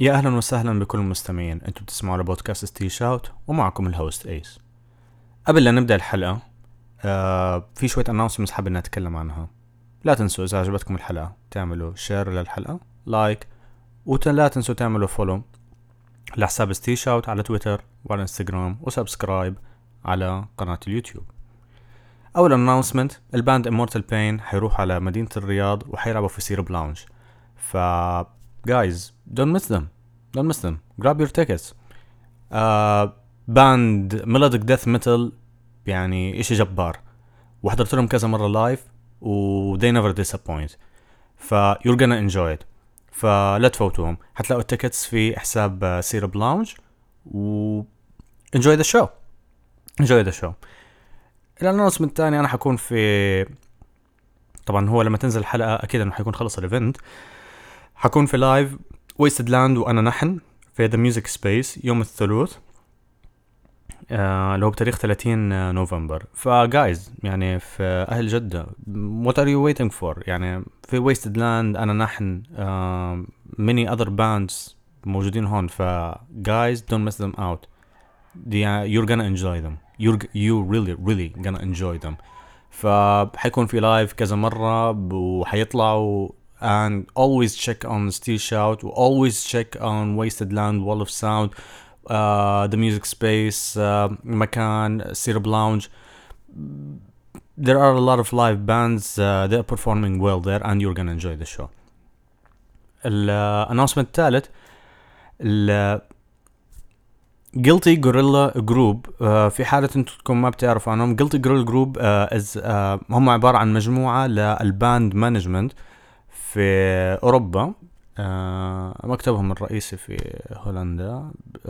يا أهلا وسهلا بكل المستمعين. أنتم بتسمعوا لبودكاست ستي شاوت ومعكم الهوست أيس. قبل لا نبدأ الحلقة في شوية announcements حابب نتكلم عنها. لا تنسوا إذا عجبتكم الحلقة تعملوا شير للحلقة، لايك، ولا تنسوا تعملوا فولو لحساب ستي شاوت على تويتر وعلى انستغرام، وسبسكرايب على قناة اليوتيوب. أول announcement، الباند Immortal Pain حيروح على مدينة الرياض وحيلعبوا في سيرب لاونج. guys, don't miss them. Don't miss them. Grab your tickets. باند melodic death metal، يعني إشي جبار، وحضرت لهم كذا مرة لايف و they never disappoint. you're gonna enjoy it. فلا تفوتوهم. حتلاقوا التيكتس في حساب سيرب لاونج و enjoy the show. enjoy the show. الانونسمنت الثاني، أنا حكون في، طبعا هو لما تنزل الحلقة أكيد أنه حيكون خلص الإيفنت. حكون في لايف ويستد لاند وأنا نحن في The Music Space يوم الثلاث، اللي هو بتاريخ 30 نوفمبر. فجايز يعني في أهل جدة، what are you waiting for؟ يعني في ويستد لاند أنا نحن many other bands موجودين هون. guys don't miss them out. you're gonna enjoy them. you really gonna enjoy them. فحيكون في لايف كذا مرة وحيطلعوا. And always check on Steel Shout, always check on Wasted Land, Wall of Sound, The Music Space, مكان Syrup Lounge. There are a lot of live bands. They are performing well there, and you're gonna enjoy the show. الannouncement الثالث، Guilty Gorilla Group. في حالة انتم ما بتعرفوا عنهم، Guilty Gorilla Group هم عبارة عن مجموعة للباند مانجمنت في أوروبا. مكتبهم الرئيسي في هولندا.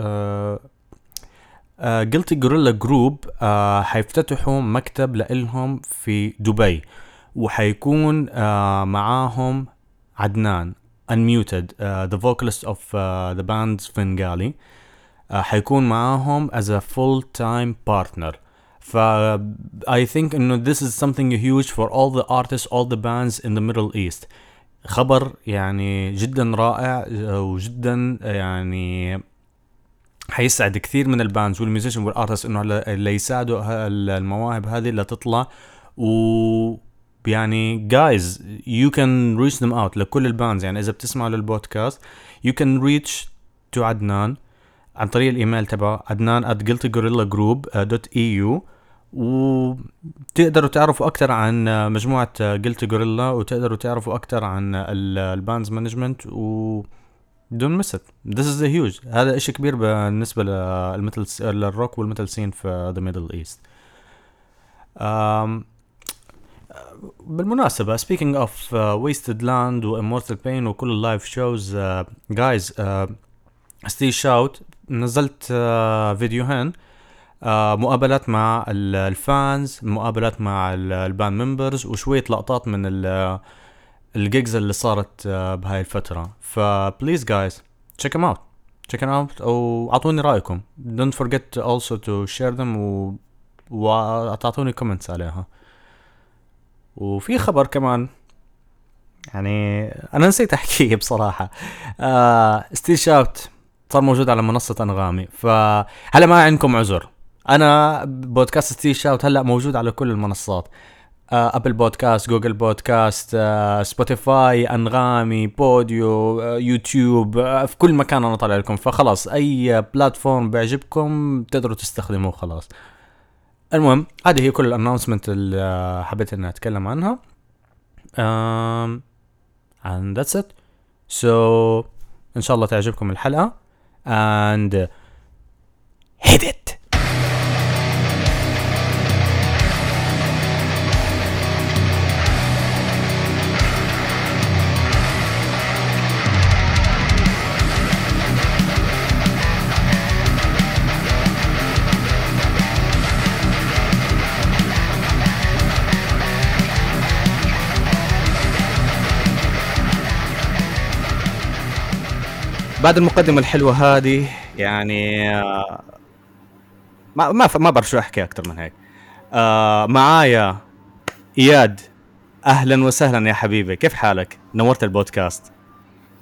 Guilty Gorilla Group حيفتتحوا مكتب لإلهم في دبي، وحيكون معاهم عدنان Unmuted, the vocalist of the band Svengali. حيكون معاهم as a full-time partner. I think this is something huge for all the artists, all the bands in the Middle East. خبر يعني جدا رائع وجدا يعني حيسعد كثير من الباندز والميوزيشن والارتست انه اللي يساعدوا المواهب هذه اللي تطلع. و يعني guys you can reach them out لكل الباندز. يعني اذا بتسمعوا للبودكاست you can reach to عدنان عن طريق الايميل تبعه adnan@guiltygorillagroup.eu، وتقدروا تعرفوا أكتر عن مجموعة Guilty Gorilla، وتقدروا تعرفوا أكتر عن الباندز مانجمنت. و don't miss it. This is a huge. هذا إشي كبير بالنسبة للروك والميتال سين في the Middle East. بالمناسبة speaking of Wasted Land و Immortal Pain وكل اللايف شوز، guys Stay Shout نزلت فيديوهين، مقابلات مع الفانز، مقابلات مع الباند ممبرز، وشوية لقطات من الجيجز اللي صارت بهاي الفترة. فبليز guys check them out وعطوني رأيكم. don't forget also to share them وتعطوني comments عليها. وفي خبر كمان يعني أنا نسيت أحكيه بصراحة. ستيل شاوت صار موجود على منصة أنغامي، فهلا ما عندكم عذر. أنا بودكاست ستيل شاوت هلأ موجود على كل المنصات، أبل بودكاست، جوجل بودكاست، سبوتيفاي، أنغامي، بوديو، يوتيوب، في كل مكان أنا طالع لكم. فخلاص أي بلاتفورم بيعجبكم تقدروا تستخدموه خلاص. المهم هذه هي كل الاناونسمنت اللي حبيت إني أتكلم عنها. and that's it. so إن شاء الله تعجبكم الحلقة and hit it. بعد المقدمة الحلوة هذه يعني ما بعرف شو أحكي أكتر من هيك. معايا إياد. أهلا وسهلا يا حبيبي، كيف حالك؟ نورت البودكاست.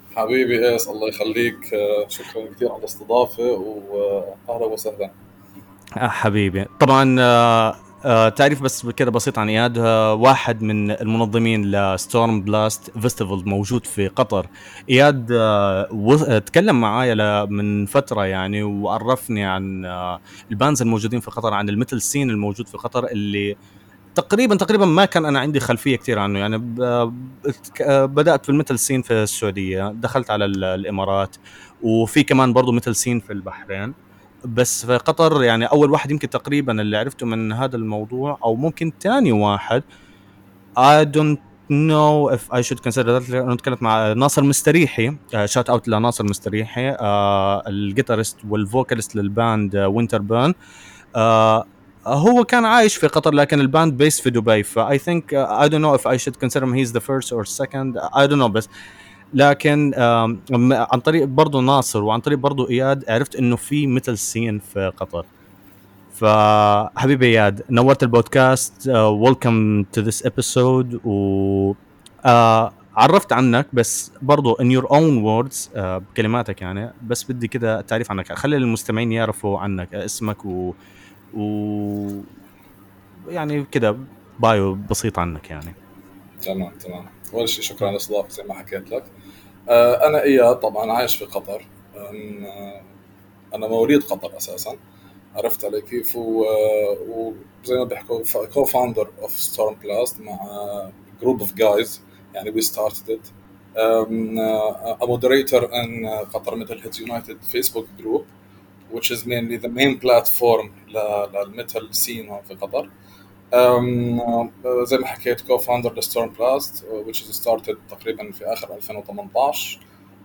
حبيبي ايس، الله يخليك. شكرا كثير على الاستضافة، واهلا وسهلا. حبيبي طبعا. تعريف بس كده بسيط عن اياد. واحد من المنظمين لستورم بلاست فيستيفال موجود في قطر. اياد تكلم معايا من فتره يعني، وعرفني عن البانز الموجودين في قطر، عن الميتال سين الموجود في قطر، اللي تقريبا ما كان انا عندي خلفيه كثير عنه يعني. بدات في الميتال سين في السعوديه، دخلت على الامارات، وفي كمان برضه ميتال سين في البحرين. بس في قطر يعني اول واحد يمكن تقريبا اللي عرفته من هذا الموضوع، او ممكن ثاني واحد. I don't know if I should consider that. أنا تكلمت مع ناصر مستريحي، شات اوت لناصر مستريحي، الجيتارست والفوكاليست للباند وينتر بيرن. هو كان عايش في قطر، لكن الباند بيس في دبي. فاي ثينك I don't know if I should consider him he's the first or second. I don't know. بس لكن عن طريق برضو ناصر وعن طريق برضو اياد عرفت انه في مثل سين في قطر. فحبيبي اياد، نورت البودكاست. ويلكم تو ذس ابيسود. و عرفت عنك بس برضو in your own words، بكلماتك يعني. بس بدي كده تعريف عنك، خلي المستمعين يعرفوا عنك، اسمك و يعني كده بايو بسيط عنك يعني. تمام تمام. اول شيء شكرا على الاستضافة زي ما حكيت لك. انا اياد، طبعا عايش في قطر. انا مواليد قطر اساسا. عرفت علي كيف؟ وزي ما بيحكوا كو فاوندر اوف ستورم بلاست مع جروب اوف جايز. يعني we started it. A moderator in Qatar Metal Heads United Facebook group, which is mainly the main platform للميتال سين هون في قطر. زي ما حكيت co-founder لستورم بلاست which is started تقريبا في آخر 2018.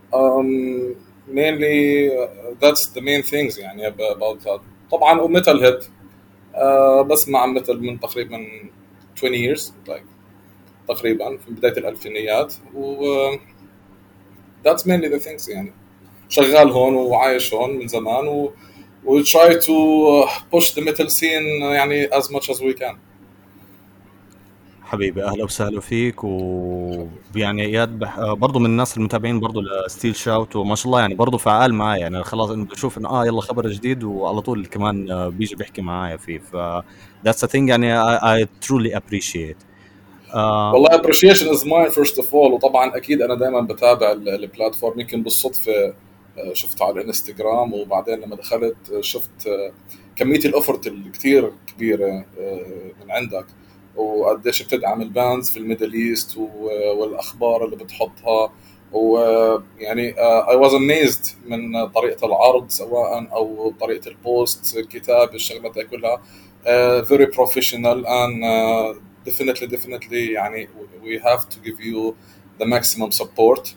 Mainly that's the main things يعني about that. طبعا وميتال هيد بسمع ميتال من تقريبا 20 years like تقريبا في بداية الألفينيات. و that's mainly the things يعني. شغال هون وعايش هون من زمان we try to push the metal scene يعني as much as we can. حبيبي اهلا وسهلا فيك. ويعني اياد برضو من الناس المتابعين برضو لستيل شاوت، وما شاء الله يعني برضو فعال معايا يعني. خلاص انه بشوف انه يلا خبر جديد وعلى طول كمان بيجي بيحكي معايا فيه. ف that's a thing يعني I truly appreciate. آه والله appreciation is mine first of all. وطبعا اكيد انا دائما بتابع البلاتفورم، يمكن بالصدفه شفته على الانستغرام، وبعدين لما دخلت شفت كميه الاوفرت الكتير كبيره من عندك، وقديش بتدعم الباندز في الميدل ايست، والاخبار اللي بتحطها. ويعني I was amazed من طريقه العرض سواء او طريقه البوست، الكتاب، الشغلات هاي كلها very professional and definitely يعني we have to give you the maximum support.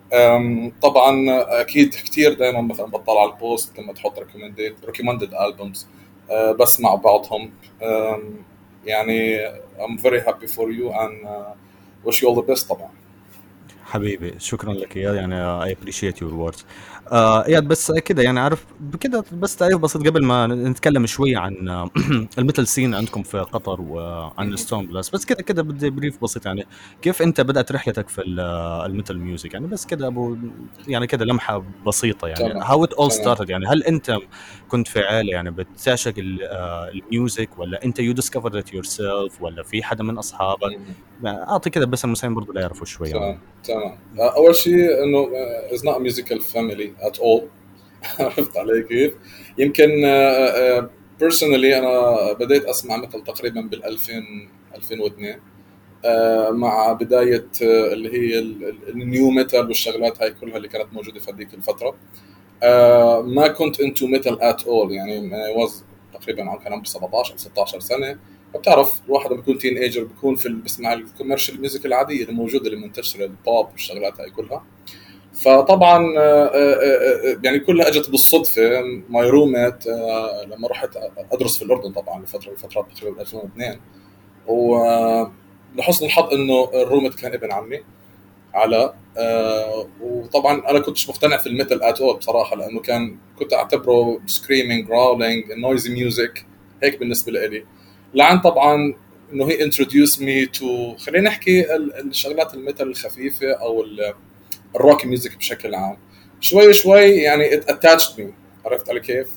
طبعا اكيد كثير دائما مثلا بطلع على البوست لما تحط recommended albums، بسمع بعضهم. يعني I'm very happy for you and wish you all the best طبعا. حبيبي شكرا لك اياد يعني I appreciate your words. اياد بس كده يعني عارف كده بس تعريف بسيط قبل ما نتكلم شوي عن الميتال سين عندكم في قطر وعن الستون بلس. بس كده بدي بريف بسيط يعني. كيف انت بدأت رحلتك في الميتال ميوزك يعني؟ بس كده ابو يعني كده لمحة بسيطة يعني تمام how it all تمام. started يعني. هل انت كنت في عائلة يعني بتعشق الميوزك، ولا انت you discovered it yourself، ولا في حدا من اصحابك؟ اعطي كده بس المسلمين برضو لا يعرفوا شوي تمام عنه. تمام. اول شيء انه is not a musical family at all. عرفت علي كيف؟ يمكن personally انا بديت اسمع مثل تقريبا بال 2000 2002 مع بدايه اللي هي النيو ميتال والشغلات هاي كلها اللي كانت موجوده في هذيك الفتره. ما كنت انتو ميتال ات اول يعني. was تقريبا كان عمري 17 او 16 سنه. بتعرف الواحد لما بيكون تين ايجر بيكون بسمع الكوميرشال ميوزك العاديه اللي موجوده اللي منتشره، البوب والشغلات هاي كلها. فطبعا يعني كلها اجت بالصدفه. ماي روميت لما رحت ادرس في الاردن طبعا لفتره من الفترات تقريبا 2002. ولحسن الحظ انه الروميت كان ابن عمي على وطبعا انا كنتش مقتنع في الميتال ات اول بصراحه، لانه كنت اعتبره سكريمينج راولينج نويزي ميوزك هيك بالنسبه لي. لعن طبعا انه هي introduced me to خلينا نحكي الشغلات الميتال الخفيفه او الروك ميوزك بشكل عام. شوي شوي يعني it attached me. عرفت علي كيف؟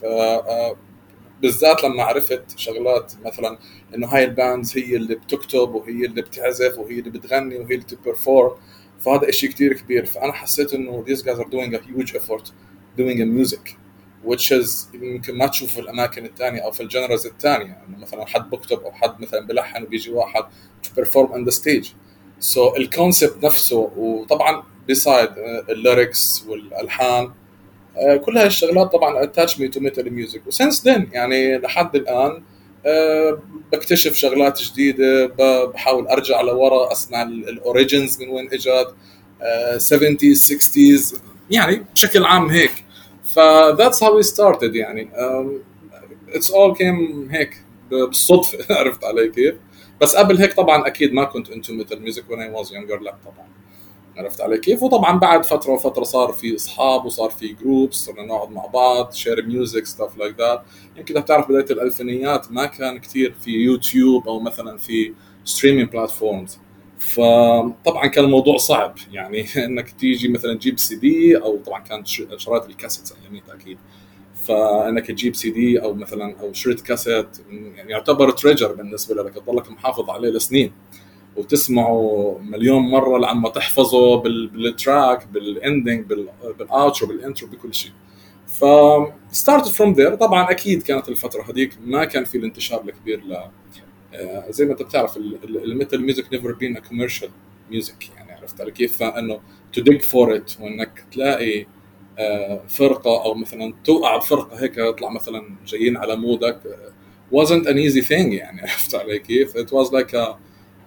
بالذات لما عرفت شغلات مثلا انه هاي الباندز هي اللي بتكتب وهي اللي بتعزف وهي اللي بتغني وهي اللي بتبرفورم، فهذا اشي كتير كبير. فانا حسيت انه these guys are doing a huge effort doing a music which is يمكن ما تشوفه في الاماكن الثانيه او في الجنرز الثانيه، انه مثلا حد بكتب او حد مثلا بلحن وبيجي واحد to perform on the stage. so الكونسبت نفسه، وطبعا بيسايد الليركس والالحان، كل هاي الشغلات طبعا attach me to metal music. وسنس then يعني لحد الآن بكتشف شغلات جديدة، بحاول أرجع لورا أسمع الأوريجينز من وين إجت، 70s 60s يعني بشكل عام هيك. ف that's how we started يعني. it's all came هيك بالصدفة. عرفت علي كيف؟ بس قبل هيك طبعا أكيد ما كنت into metal music when I was younger، لا طبعا. عرفت علي كيف؟ وطبعا بعد فتره وفتره صار في اصحاب وصار في جروبس، صرنا نقعد مع بعض شير ميوزك ستاف لايك ذات. يمكن بتعرف بدايه الالفينيات ما كان كثير في يوتيوب او مثلا في ستريمينج بلاتفورمز، فطبعا كان الموضوع صعب يعني انك تيجي مثلا تجيب سي دي، او طبعا كانت شرايط الكاسيتس اياميتها اكيد، فانك تجيب سي دي او مثلا او شريط كاسيت يعني يعتبر تريجر بالنسبه لك، تضلك محافظ عليه لسنين وتسمعه مليون مره لعما تحفظه بالتراك بالاندنج بالاوترو بالانترو بكل شيء. ف started from there. طبعا اكيد كانت الفتره هذيك ما كان في الانتشار الكبير ل زي ما انت بتعرف الميتال ميوزك نيفر بين ا كوميرشال ميوزك يعني. عرفت علي كيف؟ فانه to dig for it وانك تلاقي فرقه او مثلا توقع بفرقه هيك يطلع مثلا جايين على مودك wasn't an easy thing يعني. عرفت علي كيف؟ it was like a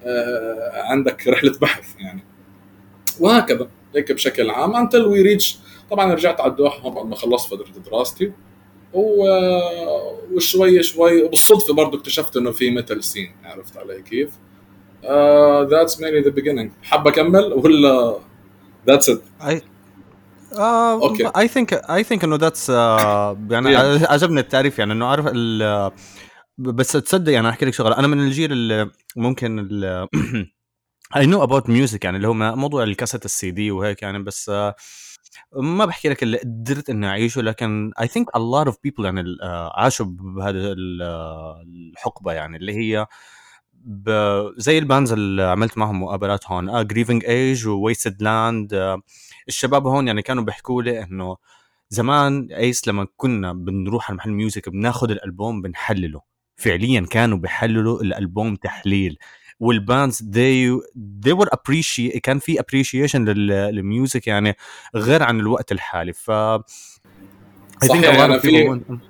عندك رحله بحث يعني. وهكذا هيك بشكل عام until we reach. طبعا رجعت على الدوحه بعد ما خلصت فتره دراستي، وشوي شوي وبالصدفه برضه اكتشفت انه في ميتال سين. عرفت علي كيف؟ that's mainly the beginning. حاب اكمل ولا that's it؟ I اوكي. I think انه that's يعني yeah. عجبني التعريف، يعني انه عارف بس تصدق يعني احكي لك شغله، انا من الجيل اللي ممكن I know about music يعني اللي هو موضوع الكاسيت السي دي وهيك يعني، بس ما بحكي لك اللي قدرت اني اعيشه، لكن I think a lot of people يعني عاشوا بهذا الحقبه يعني اللي هي زي البانز اللي عملت معهم مقابلات هون grieving age و wasted land. الشباب هون يعني كانوا بيحكوا لي انه زمان ايس لما كنا بنروح على محل ميوزك بناخذ الالبوم بنحلله، فعليا كانوا بيحللوا الالبوم تحليل. والباندز they were appreciate، كان في appreciation للميوزك يعني غير عن الوقت الحالي. ف I think a صحيح. lot of يعني people في want...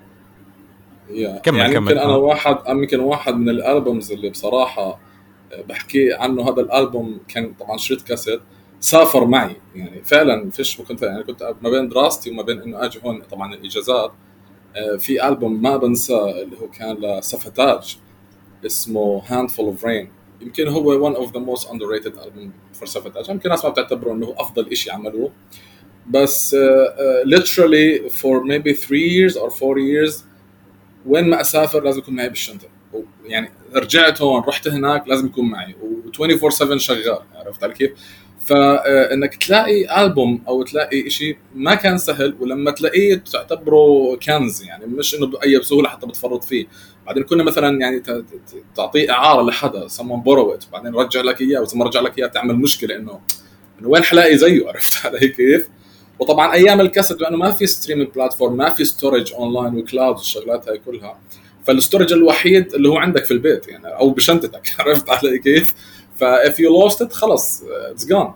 كمل يعني كمل يمكن انا واحد من الالبومز اللي بصراحه بحكي عنه. هذا الالبوم كان طبعا شريط كاسيت سافر معي يعني فعلا فيش. كنت يعني كنت ما بين دراستي وما بين انه اجي هون طبعا الاجازات. في البوم ما بنساه اللي هو كان لسفتاج اسمه Handful of Rain. يمكن هو one of the most underrated album for سفتاج. يمكن الناس ما بتعتبره انه افضل إشي عملوه، بس literally for maybe 3 years or 4 years وين ما اسافر لازم يكون معي بالشنطه. يعني رجعت هون رحت هناك لازم يكون معي و24/7 شغال. عرفت علي كيف؟ فانك تلاقي البوم او تلاقي شيء ما كان سهل، ولما تلاقيه تعتبره كنز يعني، مش انه باي بسهوله حتى بتفرط فيه. بعدين كنا مثلا يعني تعطيه اعاره لحدا someone borrow it وبعدين رجع لك اياه، وثم رجع لك اياه تعمل مشكله انه وين حلاقي زيه. عرفت علي كيف؟ وطبعا ايام الكاسيت لانه ما في ستريمينج بلاتفورم، ما في ستورج اونلاين وكلاود والشغلات هاي كلها، فالستورج الوحيد اللي هو عندك في البيت يعني او بشنطتك. عرفت علي كيف؟ if you lost it خلص it's gone.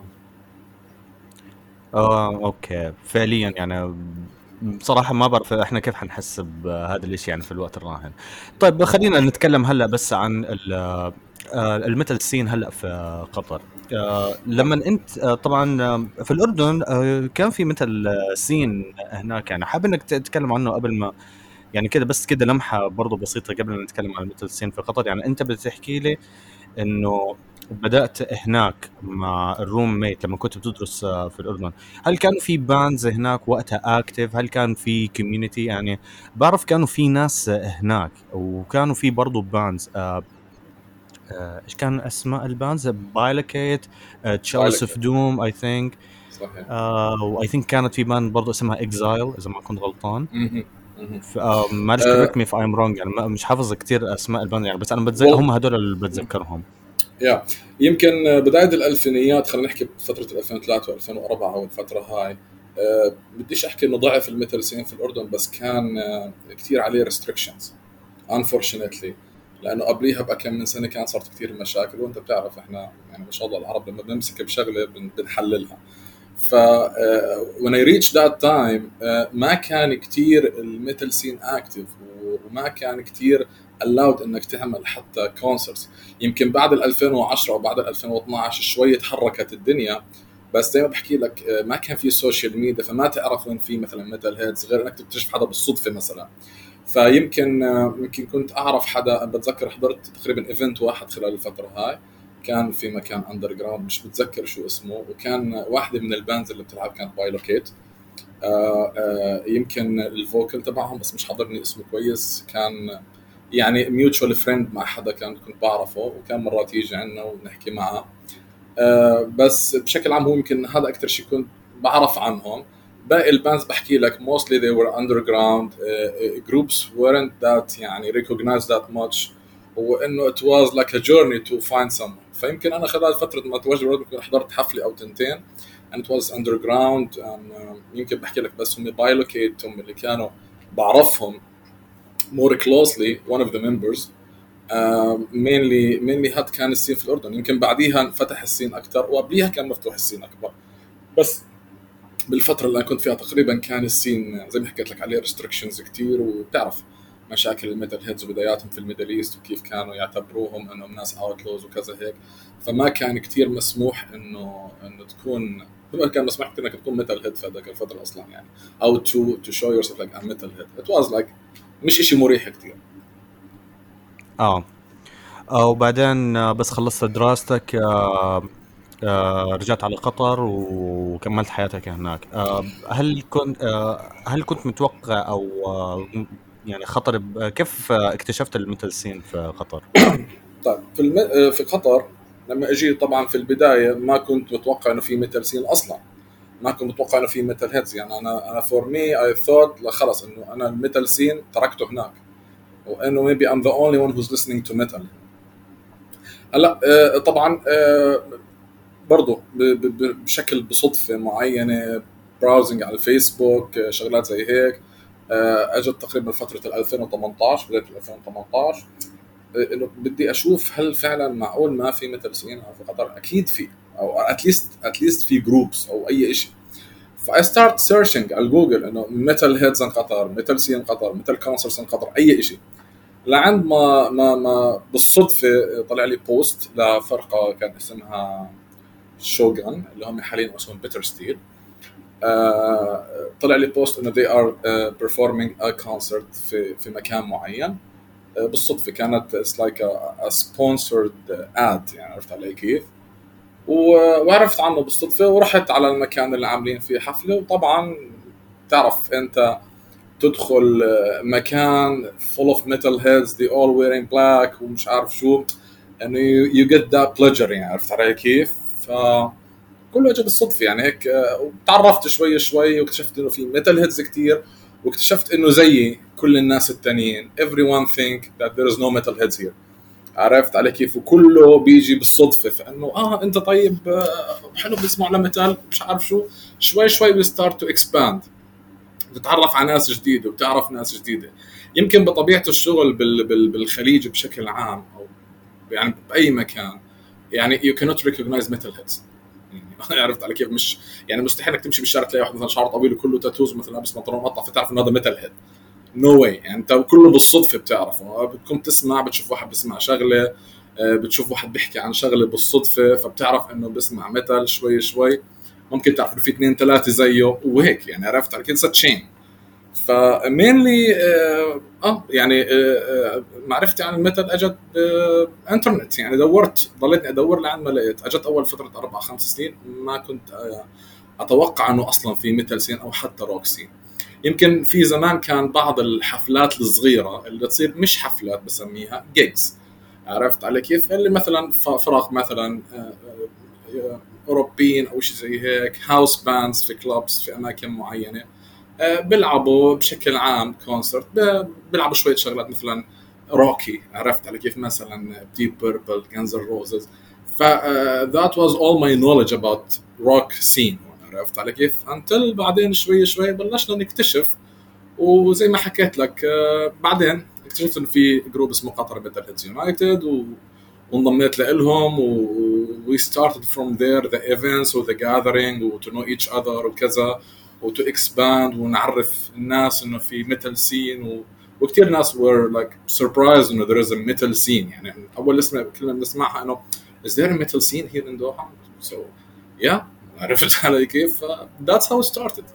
اوكي فعليا يعني بصراحة ما بعرف احنا كيف حنحس بهذا الاشي يعني في الوقت الراهن. طيب خلينا نتكلم هلا بس عن الميتال سين هلا في قطر. لما انت طبعا في الاردن كان في مثل سين هناك، يعني حابب انك تتكلم عنه قبل ما يعني كده، بس كده لمحة برضو بسيطة قبل ما نتكلم عن الميتال سين في قطر. يعني انت بتحكي لي انه بدأت هناك مع الروم ميت لما كنت بتدرس في الأردن، هل كان في باندز هناك وقتها اكتف؟ هل كان في كوميونيتي؟ يعني بعرف كانوا في ناس هناك وكانوا في برضو باندز ايش كان اسماء الباندز؟ بايلوكيت، تشالس بايلك اوف دوم اي ثينك. صحيح. واي ثينك كانت في باند برضه اسمها اكزايل اذا ما كنت غلطان. مهم. مهم. معلش كوريكت مي اف ايم رونج، يعني مش حافظ كتير اسماء الباند يعني، بس انا هم هدول اللي بتذكرهم. يمكن بداية الألفينيات، خلينا نحكي بفترة 2003 و2004 أو الفترة هاي. بديش أحكي إنه ضعف الميتال سين في الأردن، بس كان كتير عليه restrictions unfortunately، لأنه قبليها بكم من سنة كان صارت كتير مشاكل، وأنت بتعرف إحنا يعني ما شاء الله العرب لما بنمسك بشغلة بنحللها. ف when I reached that time ما كان كتير الميتال سين اكتف، وما كان كتير allowed انك تعمل حتى كونسرتس. يمكن بعد ال 2010 وبعد ال 2012 شوي تحركت الدنيا، بس زي ما بحكي لك ما كان في سوشيال ميديا، فما تعرف وين في مثلا ميتال هيدز غير انك تكتشف حدا بالصدفه مثلا. فيمكن يمكن كنت اعرف حدا، بتذكر حضرت تقريبا ايفنت واحد خلال الفتره هاي، كان في مكان اندر جراوند مش بتذكر شو اسمه، وكان واحده من الباندز اللي بتلعب كانت بايلوكيت. يمكن الفوكل تبعهم بس مش حاضرني اسمه كويس، كان يعني ميوتشوال فريند مع حدا كنت بعرفه، وكان مرات يجي عندنا ونحكي معه. بس بشكل عام هو يمكن هذا اكثر شيء كنت بعرف عنهم. باقي الباندز بحكي لك mostly they were underground groups weren't that يعني recognized that much، وانه it was like a journey to find someone. فيمكن انا خلال فتره ما تواجد كنت حضرت حفله او تنتين and it was underground and يمكن بحكي لك بس هم بايلوكيت هم اللي كانوا بعرفهم more closely one of the members. mainly هاد كان السين في الأردن. يمكن بعديها انفتح السين أكتر، وقبليها كان مفتوح السين أكبر، بس بالفترة اللي أنا كنت فيها تقريبا كان السين زي ما حكيت لك عليه restrictions كتير، وبتعرف مشاكل الميتال هيدز وبداياتهم في الميدل ايست وكيف كانوا يعتبروهم انهم ناس اوتلوز وكذا هيك. فما كان كتير مسموح انه تكون، ما كان مسموح كتير انك تكون ميتال هيد في هذاك الفترة اصلا يعني، او to show yourself like a metal head. It was like مش اشي مريح كتير. وبعدين بس خلصت دراستك رجعت على قطر وكملت حياتك هناك. هل كنت متوقع او يعني خطر كيف اكتشفت الميتال سين في قطر؟ طيب في قطر لما اجي طبعا في البدايه ما كنت متوقع انه في ميتال سين اصلا، ما كنت متوقع انه في ميتال هيدز. يعني انا فور مي اي ثوت خلص انه انا الميتال سين تركته هناك، وانه ميبي ام ذا اونلي ون هوز listening تو ميتال. هلا طبعا برضه بشكل بصدفه معينه براوزنج على الفيسبوك شغلات زي هيك اجت تقريبا فتره 2018 بدايه 2018 انه بدي اشوف هل فعلا معقول ما في ميتال سين في قطر. اكيد في، او اتليست في جروبس او اي شيء. فاي ستارت سيرشنج على جوجل انه ميتال هيدز ان قطر، ميتال سين قطر، ميتال كونسرتس ان قطر، اي شيء. لعند ما بالصدفه طلع لي بوست لفرقه كان اسمها شوغان اللي هم حاليا اسمهم بيتر ستيل. طلع لي بوست انه they are performing a concert في مكان معين. بالصدفه كانت it's like a sponsored ad، يعني عرفت علي كيف. وعرفت عنه بالصدفه ورحت على المكان اللي عاملين فيه حفله. وطبعا تعرف انت تدخل مكان full of metal heads they all wearing black ومش عارف شو، انه you get that pleasure، يعني عرفت علي كيف. كله اجى بالصدفه يعني هيك. وتعرفت شوي واكتشفت انه في ميتال هيدز كتير، واكتشفت انه زيي كل الناس التانيين everyone think that there is no metal heads here. عرفت علي كيف. وكله بيجي بالصدفه، فانه انت طيب حلو بتسمع لميتال مش عارف شو. شوي we start to expand، بتتعرف على ناس جديده وبتعرف ناس جديده. يمكن بطبيعه الشغل بالخليج بشكل عام، او يعني باي مكان، يعني you cannot recognize metal heads. عرفت على كيف. مش يعني مستحيل انك تمشي بالشارع تلاقي واحد مثلا شعره طويل وكله تاتوز مثلا لابس بنطلون مقطع فتعرف انه هذا ميتال هيد. نو واي. يعني انت كله بالصدفه بتعرفه، بتكون تسمع، بتشوف واحد بيسمع شغله، بتشوف واحد بيحكي عن شغله بالصدفه، فبتعرف انه بيسمع ميتال. شوي ممكن تعرف انه في 2 3 زيه وهيك، يعني عرفت على كيف. تشين. فمينلي يعني معرفتي عن الميتال اجت انترنت. يعني دورت، ضليتني ادور لعند ما لقيت. اجت اول فتره 4-5 سنين ما كنت اتوقع انه اصلا في ميتال سين او حتى روك سين. يمكن في زمان كان بعض الحفلات الصغيره اللي تصير، مش حفلات بسميها جيجز، عرفت على كيف، اللي مثلا فراغ مثلا اوروبيين او شيء زي هيك، هاوس باندز في كلابس في اماكن معينه، بيلعبوا بشكل عام كونسرت، بيلعبوا شويه شغلات مثلا روكي، عرفت على كيف، مثلا ديب بيربل، جانز روزز. ف that was all my knowledge about rock scene، عرفت على كيف. until بعدين شوي شوي بلشنا نكتشف، وزي ما حكيت لك بعدين اكتشفت انه في جروب اسمه قطر ميتال هيدز يونايتد، وانضميت لهم، we started from there the events و the gathering و to know each other وكذا، و to expand ونعرف الناس انه في ميتال سين، وكثير ناس were like surprised انه there is a metal scene. يعني اول كلمه بنسمعها انه is there a metal scene here in Doha. so yeah، عرفت علي كيف. that's how it started.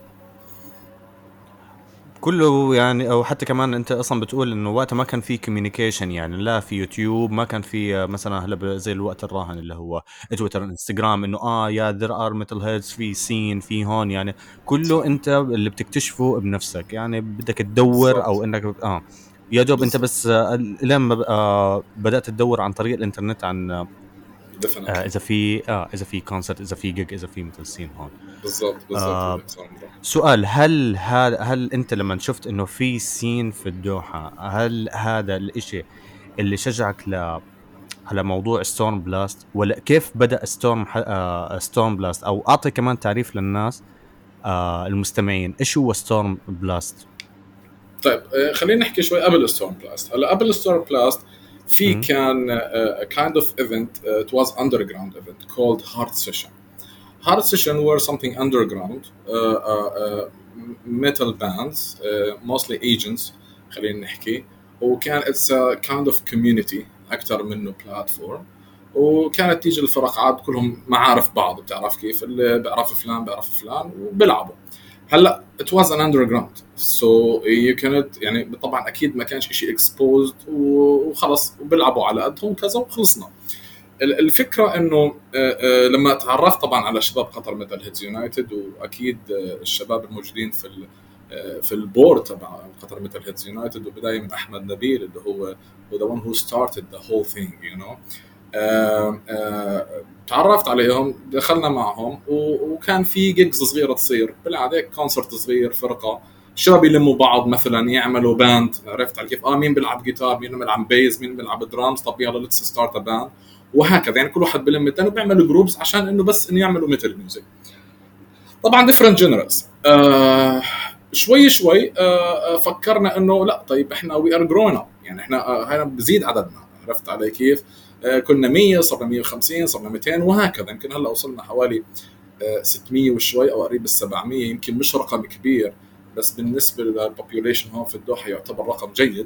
كله يعني، او حتى كمان انت اصلا بتقول انه وقتها ما كان في كوميونيكيشن، يعني لا في يوتيوب، ما كان في مثلا هلا زي الوقت الراهن اللي هو تويتر انستغرام، انه يا ذير ار ميتال هيدز في سين في هون، يعني كله صح. انت اللي بتكتشفه بنفسك، يعني بدك تدور او بالضبط. انك يا دوب انت بالضبط. بس لما بدات تدور عن طريق الانترنت عن definitely. اذا في كونسرت، اذا في جيج، اذا في ميتال سين هون. بالضبط بالضبط آه الكسندرا. سؤال، هل انت لما شفت انه في سين في الدوحة، هل هذا الاشي اللي شجعك على موضوع ستورم بلاست، ولا كيف بدأ ستورم بلاست؟ او اعطي كمان تعريف للناس المستمعين، ايش هو ستورم بلاست؟ طيب خلينا نحكي شوي قبل ستورم بلاست. هلا قبل ستورم بلاست في امم كان a kind of event, it was underground event called Heart Session. Heart Session were something underground, metal bands, mostly agents خلينا نحكي. وكان it's a kind of community أكثر منه platform. وكانت تيجي الفرقعات كلهم معارف بعض، بتعرف كيف، اللي بيعرف فلان بيعرف فلان وبيلعبوا. هلا it was an underground so you cannot، يعني طبعا اكيد ما كانش شيء exposed وخلص وبيلعبوا على قدهم كذا وخلصنا. الفكره انه لما تعرفت طبعا على شباب قطر ميتال هيدز يونايتد، واكيد الشباب الموجودين في البورد تبع قطر ميتال هيدز يونايتد، وبدايه من احمد نبيل اللي هو the one who started the whole thing you know. تعرفت عليهم، دخلنا معهم، وكان في جيجز صغيره تصير بالعاده، كونسرت صغير، فرقه شباب يلموا بعض مثلا يعملوا باند، عرفت على كيف، مين بيلعب جيتار، مين بيلعب بيز، مين بيلعب درامز، طب يلا ليتس ستارت ا باند، وهكذا. يعني كل واحد بلم الثاني وبيعملوا جروبز عشان انه بس انه يعملوا ميتال ميوزك. طبعا ديفرنت جنرالز. شوي شوي فكرنا انه لا، طيب احنا وي ار جروين اب، يعني احنا هنا بزيد عددنا، عرفت علي كيف. كنا 100 صرنا 150 صرنا 200 وهكذا. يمكن هلا وصلنا حوالي 600 وشوي او قريب ال 700. يمكن مش رقم كبير، بس بالنسبه للبوبوليشن هون في الدوحه يعتبر رقم جيد.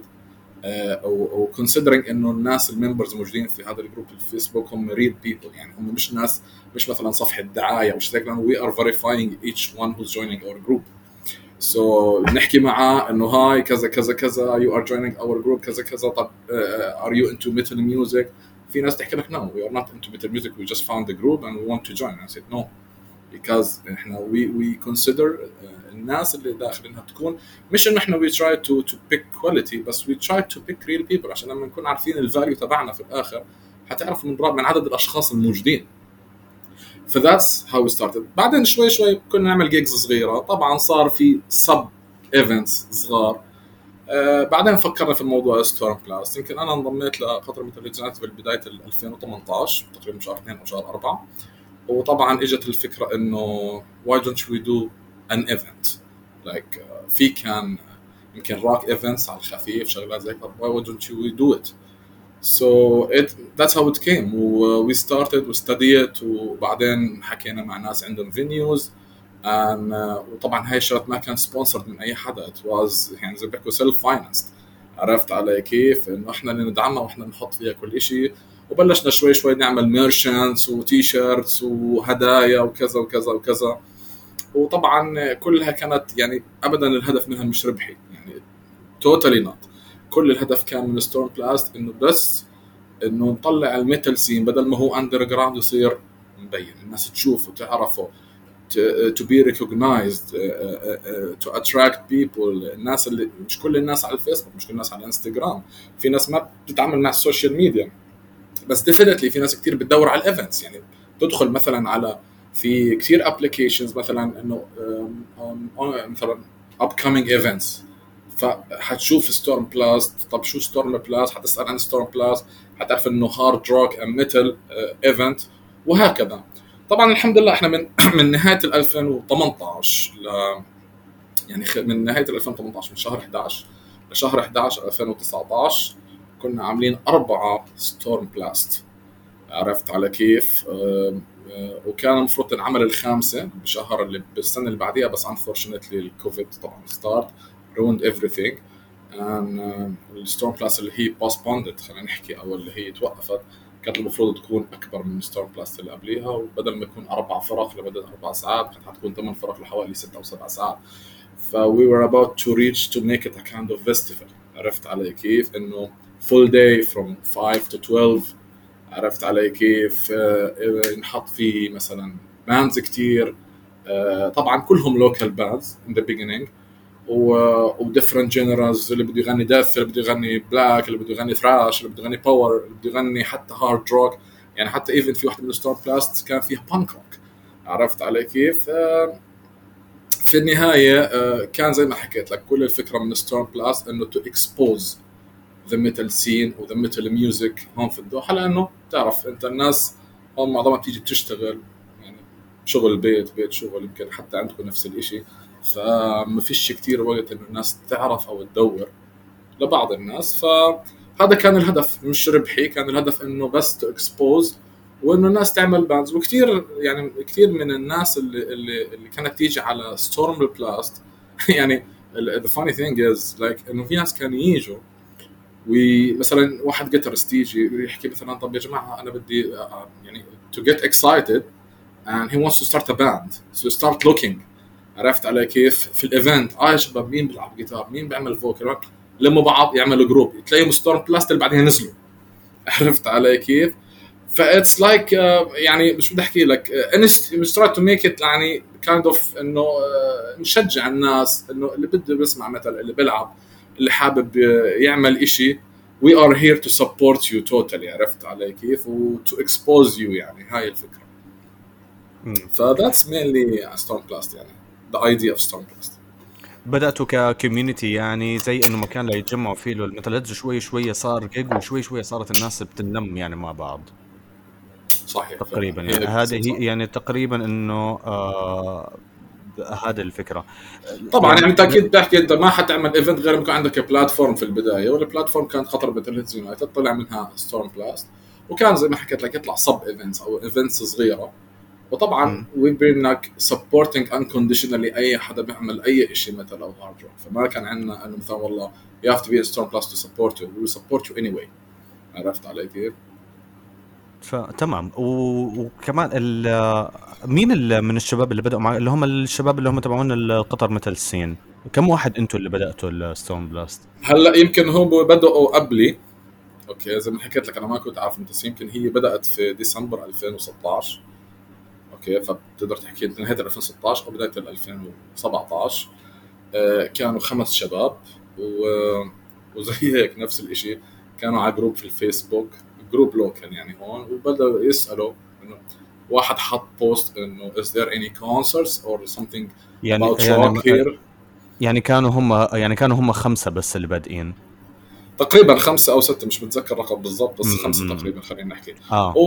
او considering انه الناس الممبرز موجودين في هذا الجروب الفيسبوك هم ريل بيبل، يعني هم مش ناس، مش مثلا صفحه دعايه او شيء، لانه we are verifying each one who's joining our group. so نحكي معاه انه هاي كذا كذا كذا you are joining our group كذا كذا، طب are you into metal music؟ في ناس تحكي لك no we are not into metal music, we just found the group and we want to join. I said no, because احنا we consider الناس اللي داخلينها تكون مش انه احنا we try to pick quality، بس we try to pick real people، عشان لما نكون عارفين الفاليو تبعنا في الاخر حتعرف من عدد الاشخاص الموجودين. ف that's how we started. بعدين شوي شوي كنا نعمل جيجز صغيره، طبعا صار في سب ايفنتس صغار. بعدين فكرنا في الموضوع ستورم بلاست. يمكن انا انضميت لقطر ميتال هيدز يونايتد في بدايه 2018 تقريبا شهر 2 او شهر 4. وطبعا اجت الفكره انه why don't we do an event like في كان يمكن rock events على الخفيف شغلات زي كذا, why don't we do it. so that's how it came. we started we studied, وبعدين حكينا مع ناس عندهم venues وطبعا هاي الشغلات ما كان sponsored من اي حدا, it was يعني زي بيحكوا self financed. عرفت علي كيف, انه احنا اللي ندعمها واحنا نحط فيها كل شيء. وبلشنا شوي شوي نعمل ميرشنتس وتي شيرتس وهدايا وكذا وكذا وكذا. وطبعا كلها كانت يعني ابدا الهدف منها مش ربحي, يعني توتالي نوت. كل الهدف كان من ستورم بلاست انه بس انه نطلع الميتال سين, بدل ما هو اندر جراوند يصير مبين, الناس تشوفه تعرفه, to be recognized, to attract people. الناس اللي مش كل الناس على الفيسبوك, مش كل الناس على الانستغرام, في ناس ما بتتعامل مع السوشيال ميديا, بس definitely في ناس كتير بتدور على الايفنتس. يعني تدخل مثلا على في كثير ابلكيشنز مثلا انه مثلا upcoming events، فحتشوف ستورم بلاست. طب شو ستورم بلاست؟ حتسال عن ستورم بلاست، حتعرف انه هارد روك ام ميتال ايفنت، وهكذا. طبعا الحمد لله احنا من من نهايه 2018 يعني من نهايه 2018 من شهر 11 لشهر 11 2019 كنا عاملين 4 ستورم بلاست. عرفت على كيف؟ وكان المفروض تنعمل الخامسه بشهر اللي بالسنه اللي بعديها، بس unfortunately الكوفيد طبعا ستارت ruined everything. الستورم بلاس اللي هي postponed خلينا نحكي، او اللي هي توقفت، كانت المفروض تكون اكبر من الستورم بلاس اللي قبليها، وبدل ما يكون 4 فرق لمده 4 ساعات كانت حتكون 8 فرق لحوالي 6 او 7 ساعات. ف we were about to reach to make it a kind of festival. عرفت علي كيف؟ انه full day from 5 to 12. عرفت علي كيف؟ نحط فيه مثلا باندز كتير، طبعا كلهم لوكال باندز in the beginning، و different genres، اللي بده يغني ديث، اللي بده يغني بلاك، اللي بده يغني ثراش، اللي بده يغني باور، اللي بده يغني حتى هارد روك. يعني حتى ايفن في واحده من الستور بلاست كان فيها بانك روك. عرفت علي كيف؟ في النهايه كان زي ما حكيت لك، كل الفكره من ستور بلاست انه تو اكسبوز ذا ميتال سين وذا ميتال ميوزك هون في الدوحه، لانه تعرف انت الناس هون معظمها بتيجي بتشتغل، يعني شغل بيت شغل، يمكن حتى عندكم نفس الاشي، فما فيش كتير وقت انه الناس تعرف او تدور لبعض الناس. فهذا كان الهدف، مش ربحي، كان الهدف انه بس تو اكسبوز، وانه الناس تعمل باندز. وكثير يعني كثير من الناس اللي كانت تيجي على ستورم بلاست يعني the funny thing is like انه في ناس كانوا يجوا، ومثلا واحد جيتارست يجي يحكي مثلا طب يا جماعه انا بدي يعني to get excited and he wants to start a band so start looking. عرفت علي كيف؟ في الايفنت يا شباب مين بيلعب جيتار، مين بيعمل فوكال، لما بعض يعملوا جروب، تلاقيهم ستورم بلاست اللي بعدين نزلوا. عرفت علي كيف؟ فاتس لايك يعني مش بدي احكي لك مش try to make it يعني kind of انه نشجع الناس انه اللي بده يسمع مثلا، اللي بيلعب، اللي حابب يعمل إشي، we are here to support you totally. عرفت علي كيف؟ و to expose you، يعني هاي الفكرة. ف that's mainly Stormblast، يعني the idea of Stormblast. بدأتوا ككوميونيتي يعني زي انه مكان لا يتجمعوا فيه الميتالهيدز، شوي شوي صار جيج، وشوي شوي صارت الناس بتنم يعني مع بعض. صحيح تقريبا فعلا. يعني هذه هي يعني تقريبا انه هذا الفكرة طبعا يعني انت يعني. اكيد بتحكي انت ما حتعمل ايفنت غير ما يكون عندك بلاتفورم في البدايه، والبلاتفورم كانت قطر ميتالهيدز يونايتد، طلع منها ستورم بلاست، وكان زي ما حكيت لك يطلع سب ايفنتس او ايفنتس صغيره. وطبعا وي بين لك سبورتنج انكونديشنالي اي حدا بيعمل اي شيء مثل او هارد روك، فما كان عندنا انه مثلا والله you have to be a storm plus to support you, we will support you anyway. عرفت علي كيف؟ فتمام. وكمان مين من الشباب اللي بدأوا مع اللي هم الشباب اللي هم تبعون القطر مثل سين، كم واحد انتوا اللي بدأتوا الستون بلاست؟ هلا يمكن هم بدأوا قبلي، اوكي زي ما حكيت لك انا ما كنت عارف انت، يمكن هي بدأت في ديسمبر 2016، اوكي فبتقدر تحكي انت نهايه 2016 او بدايه 2017. كانوا 5 شباب وزي هيك نفس الاشي، كانوا على جروب في الفيسبوك، جروب لوكال يعني هون، وبدأوا يسألوا انه واحد حط بوست انه is there any concerts or something about rock here. يعني كانوا هم 5 بس اللي بادئين تقريبا 5 أو 6، مش متذكر الرقم بالضبط، بس 5 تقريبا خلينا نحكي.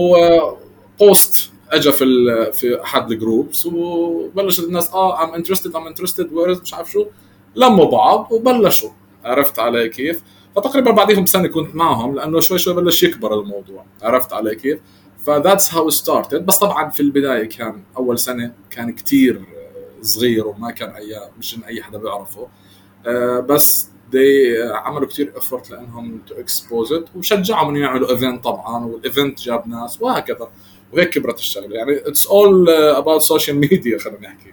وبوست اجى في احد الجروبس، وبلش الناس I'm interested where مش عارف شو، لموا بعض وبلشوا. عرفت علي كيف؟ فتقريبا بعديهم سنه كنت معهم، لانه شوي شوي بلش يكبر الموضوع. عرفت علي كيف؟ فذاتس هاو ستارتد. بس طبعا في البدايه كان اول سنه كان كتير صغير، وما كان مش اي حدا بيعرفه، بس عملوا كتير افورت لانهم تو اكسبوز ات، وشجعهم انه يعملوا ايفنت طبعا، والايفنت جاب ناس وهكذا، وهيك كبرت الشغله. يعني اتس اول اباوت سوشيال ميديا خلينا نحكي.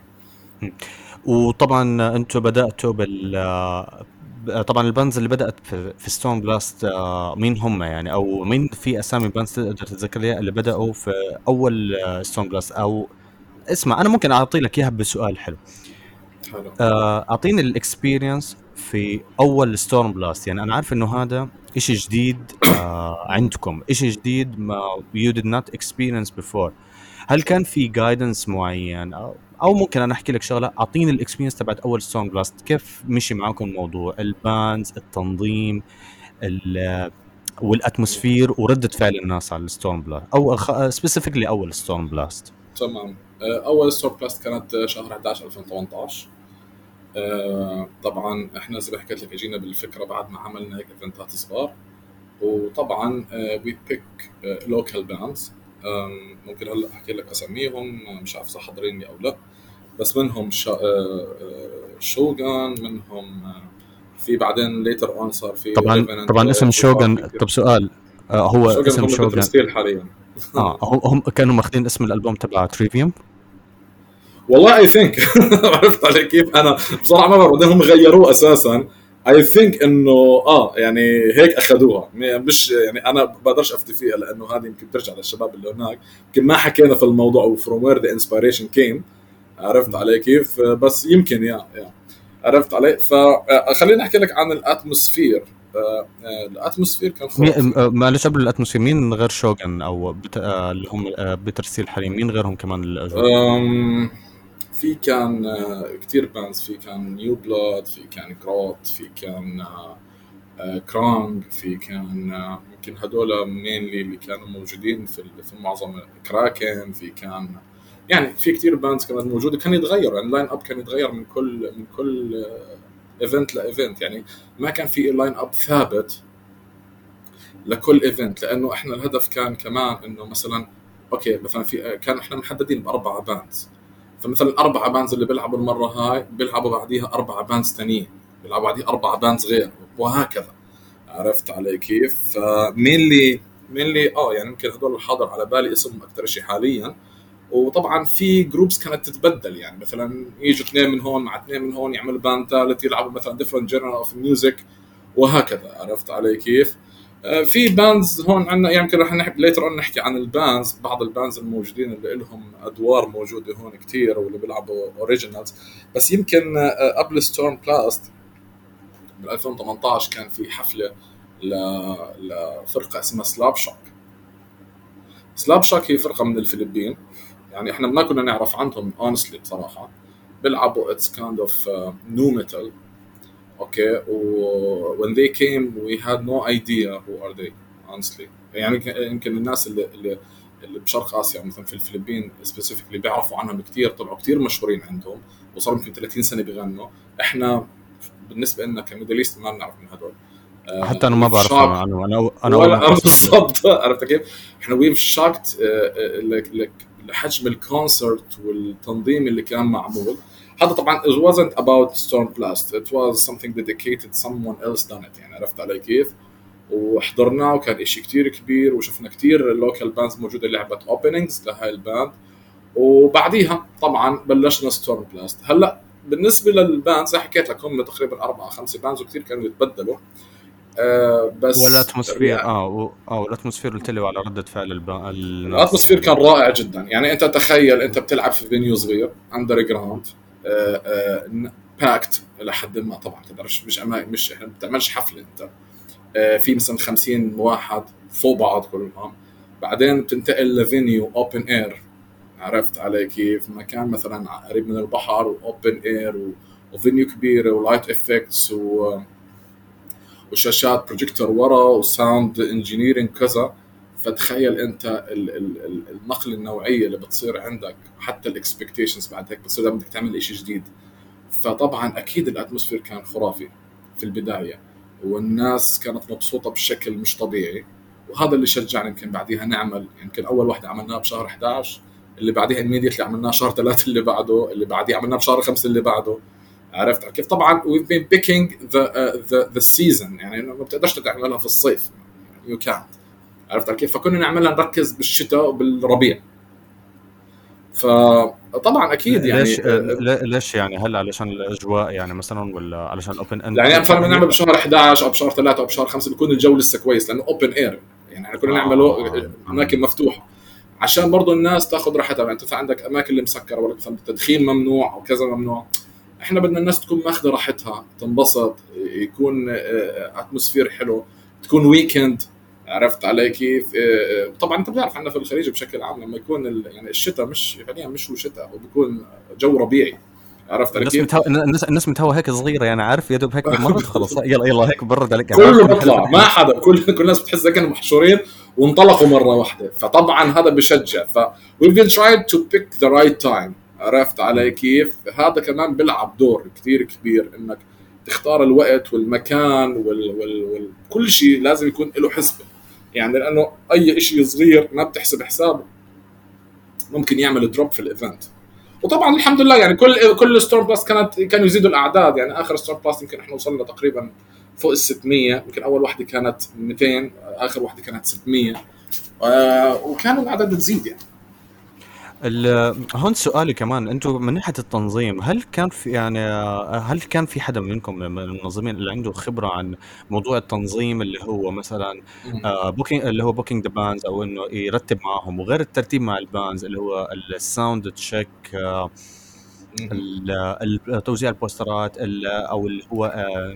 وطبعا انتم بداتوا طبعا الباندز اللي بدات في ستون بلاست مين هم يعني، او مين في اسامي باندز تقدر تتذكرها اللي بداوا في اول ستون بلاست؟ او اسمع انا ممكن اعطي لك اياها بسؤال حلو. اعطيني الاكسبيرينس في اول ستورم بلاست. يعني انا عارف انه هذا اشي جديد عندكم، اشي جديد ما you did not experience before. هل كان في جايدنس معين او ممكن انا احكي لك شغله؟ اعطيني الاكسبيرينس تبعت اول ستون بلاست، كيف مشي معكم الموضوع، البانز، التنظيم، والاتموسفير، وردة فعل الناس على الستون بلاست، او سبيسيفيكلي اول ستون بلاست. تمام. اول ستور بلاست كانت شهر 11 2018. طبعا احنا زي ما حكيت لك اجينا بالفكره بعد ما عملنا هيك ايفنتات صغار. وطبعا وي بيك لوكال باندز. ممكن هلا احكي لك اساميهم، مش عارف اذا حاضريني او لا. بس منهم شوغان، منهم في بعدين ليتر اون صار في طبعا ريفننت طبعا اسم وصار في شوغن. كثير. طب سؤال، هو شوغان اسم هم شوغن، بترستيل حاليا. هم كانوا ماخذين اسم الالبوم تبع تريفيوم؟ والله اي ثينك. عرفت علي كيف؟ انا بصراحه ما بعرف بعدين هم غيروه اساسا. اي ثينك انه يعني هيك اخذوها، مش يعني انا بقدرش افتي فيها لانه هذه يمكن بترجع للشباب اللي هناك، يمكن ما حكينا في الموضوع وفروم وير ذا انسبيريشن كيم. عرفت علي كيف؟ بس يمكن يا عرفت علي. فخليني احكي لك عن الاتموسفير. الاتموسفير كان خرافي. معلش قبل الاتموسفير، مين غير شوغن او اللي هم بترسيل حاليا، مين غيرهم كمان اللي اجوا؟ في كان كتير باندز، في كان نيو بلاد، في كان جروت، في كان كرانج، في كان يمكن هدول مينلي اللي كانوا موجودين في معظم كراكن. في كان يعني في كتير باندز كانت موجوده، كان يتغير يعني اللاين اب كان يتغير من كل ايفنت لايفنت. يعني ما كان في لاين اب ثابت لكل ايفنت، لانه احنا الهدف كان كمان انه مثلا اوكي مثلا في كان احنا محددين باربعه باندز. فمثلا اربعه باندز اللي بيلعبوا المره هاي بيلعبوا بعديها اربعه باندز ثانيين، بيلعبوا بعديها اربعه باندز غير، وهكذا. عرفت علي كيف؟ مين اللي يعني يمكن هدول الحاضر على بالي اسمهم اكثر شيء حاليا. وطبعا في جروبس كانت تتبدل، يعني مثلا يجوا اثنين من هون مع اثنين من هون يعملوا باند ثالث، يلعبوا مثلا different genre of music وهكذا. عرفت علي كيف؟ في باندز هون عندنا، يعني يمكن رح نحكي ليتر اون نحكي عن الباندز، بعض الباندز الموجودين اللي لهم ادوار موجوده هون كتير واللي بيلعبوا اوريجينالز. بس يمكن قبل ستورم بلاست بال 2018 كان في حفله لفرقه اسمها سلاب شوك. سلاب شوك هي فرقه من الفلبين، يعني احنا ما كنا نعرف عنهم honestly بصراحه. بيلعبوا it's kind of new metal. Okay, when they came we had no idea who are they honestly. يعني يمكن الناس اللي بشرق اسيا مثلا في الفلبين specifically بيعرفوا عنهم كثير، طلعوا كثير مشهورين عندهم وصاروا يمكن 30 سنه بيغنوا. احنا بالنسبه لنا كميدليست ما بنعرف من هدول. حتى انا ما we've بعرف shocked عنه، انا اول ولا مره اسمع فيه. بالضبط. عرفت كيف؟ احنا we've shocked لحجم الكونسرت والتنظيم اللي كان معمول. هذا طبعا it wasn't about Storm Blast, it was something dedicated someone else done it. يعني عرفت علي كيف؟ وحضرناه وكان إشي كتير كبير، وشفنا كتير اللوكال باندز موجودة لعبة openings لهاي الباند. وبعديها طبعا بلشنا ستورم بلاست. هلا بالنسبة للباند زي حكيت لك هم تقريبا 4-5 باندز وكتير كانوا يتبدلوا. بس والاتموسفير والاتموسفير قلت لي على ردة فعل الناس الاتموسفير يعني. كان رائع جدا. يعني انت تخيل انت بتلعب في فينيو صغير اندر جراوند باكت لحد ما، طبعا تقدرش مش احنا بتعملش حفله انت في مثلا 50 واحد فوق بعض كلهم، بعدين بتنتقل لفينيو اوبن اير. عرفت علي كيف؟ مكان مثلا قريب من البحر واوبن اير وفينيو كبيره ولايت افكتس وشاشات بروجيكتور ورا وساوند انجينيرنج كذا. فتخيل انت النقل النوعيه اللي بتصير عندك، حتى الاكسبكتيشنز بعد هيك بتصير بدك تعمل شيء جديد. فطبعا اكيد الاتموسفير كان خرافي في البدايه، والناس كانت مبسوطه بشكل مش طبيعي. وهذا اللي شجعنا يمكن بعديها نعمل. يمكن اول واحده عملناها بشهر 11، اللي بعديها immediately عملناها شهر 3 اللي بعده، اللي بعديه عملناه بشهر 5 اللي بعده. عرفت كيف؟ طبعا we've been picking the season، يعني ما بتقدرش تعملها في الصيف you can't. عرفت كيف؟ فكنا نعملها نركز بالشتاء وبالربيع. فطبعا اكيد ليش يعني ليش يعني؟ هل علشان الاجواء يعني مثلا، ولا علشان الاوبن اند؟ يعني مثلا بنعمل بشهر 11 او بشهر 3 او بشهر 5 بيكون الجو لسه كويس، لانه اوبن اير. يعني احنا كنا نعمله اماكن مفتوحه عشان برضو الناس تاخذ راحتها. يعني انت عندك اماكن اللي مسكره ولا مثلا التدخين ممنوع وكذا ممنوع. احنا بدنا الناس تكون ماخذه راحتها، تنبسط، يكون اتموسفير حلو، تكون ويكند. عرفت علي كيف؟ طبعا انت بتعرف عندنا في الخليج بشكل عام لما يكون يعني الشتاء مش فعليا مش هو شتاء، هو بيكون جو ربيعي. عرفت علي كيف؟ الناس متهوى هيك صغيره يعني، عارف، يا دوب هيك مرت خلص، يلا يلا هيك برد عليك يعني، عارف، كله المحل بطلع فتح ما حدا، كل الناس بتحس كانوا محشورين وانطلقوا مره واحده، فطبعا هذا بشجع. ف we will try to pick the right time. عرفت علي كيف؟ هذا كمان بيلعب دور كثير كبير، انك تختار الوقت والمكان كل شيء لازم يكون له حسبه. يعني لانه اي شيء صغير ما بتحسب حسابه ممكن يعمل دروب في الايفنت. وطبعا الحمد لله يعني كل ستورم بلاست كانوا يزيدوا الاعداد. يعني اخر ستورم بلاست يمكن احنا وصلنا تقريبا فوق ال 600. يمكن اول واحده كانت 200، اخر واحده كانت 600. وكانوا الاعداد بتزيد يعني. هون سؤالي كمان، انتم من ناحيه التنظيم، هل كان في يعني هل كان في حدا منكم من المنظمين اللي عنده خبره عن موضوع التنظيم، اللي هو مثلا بوكينج، اللي هو بوكينج ذا بانز، او انه يرتب معاهم، وغير الترتيب مع البانز اللي هو الساوند تشيك، توزيع البوسترات، او اللي هو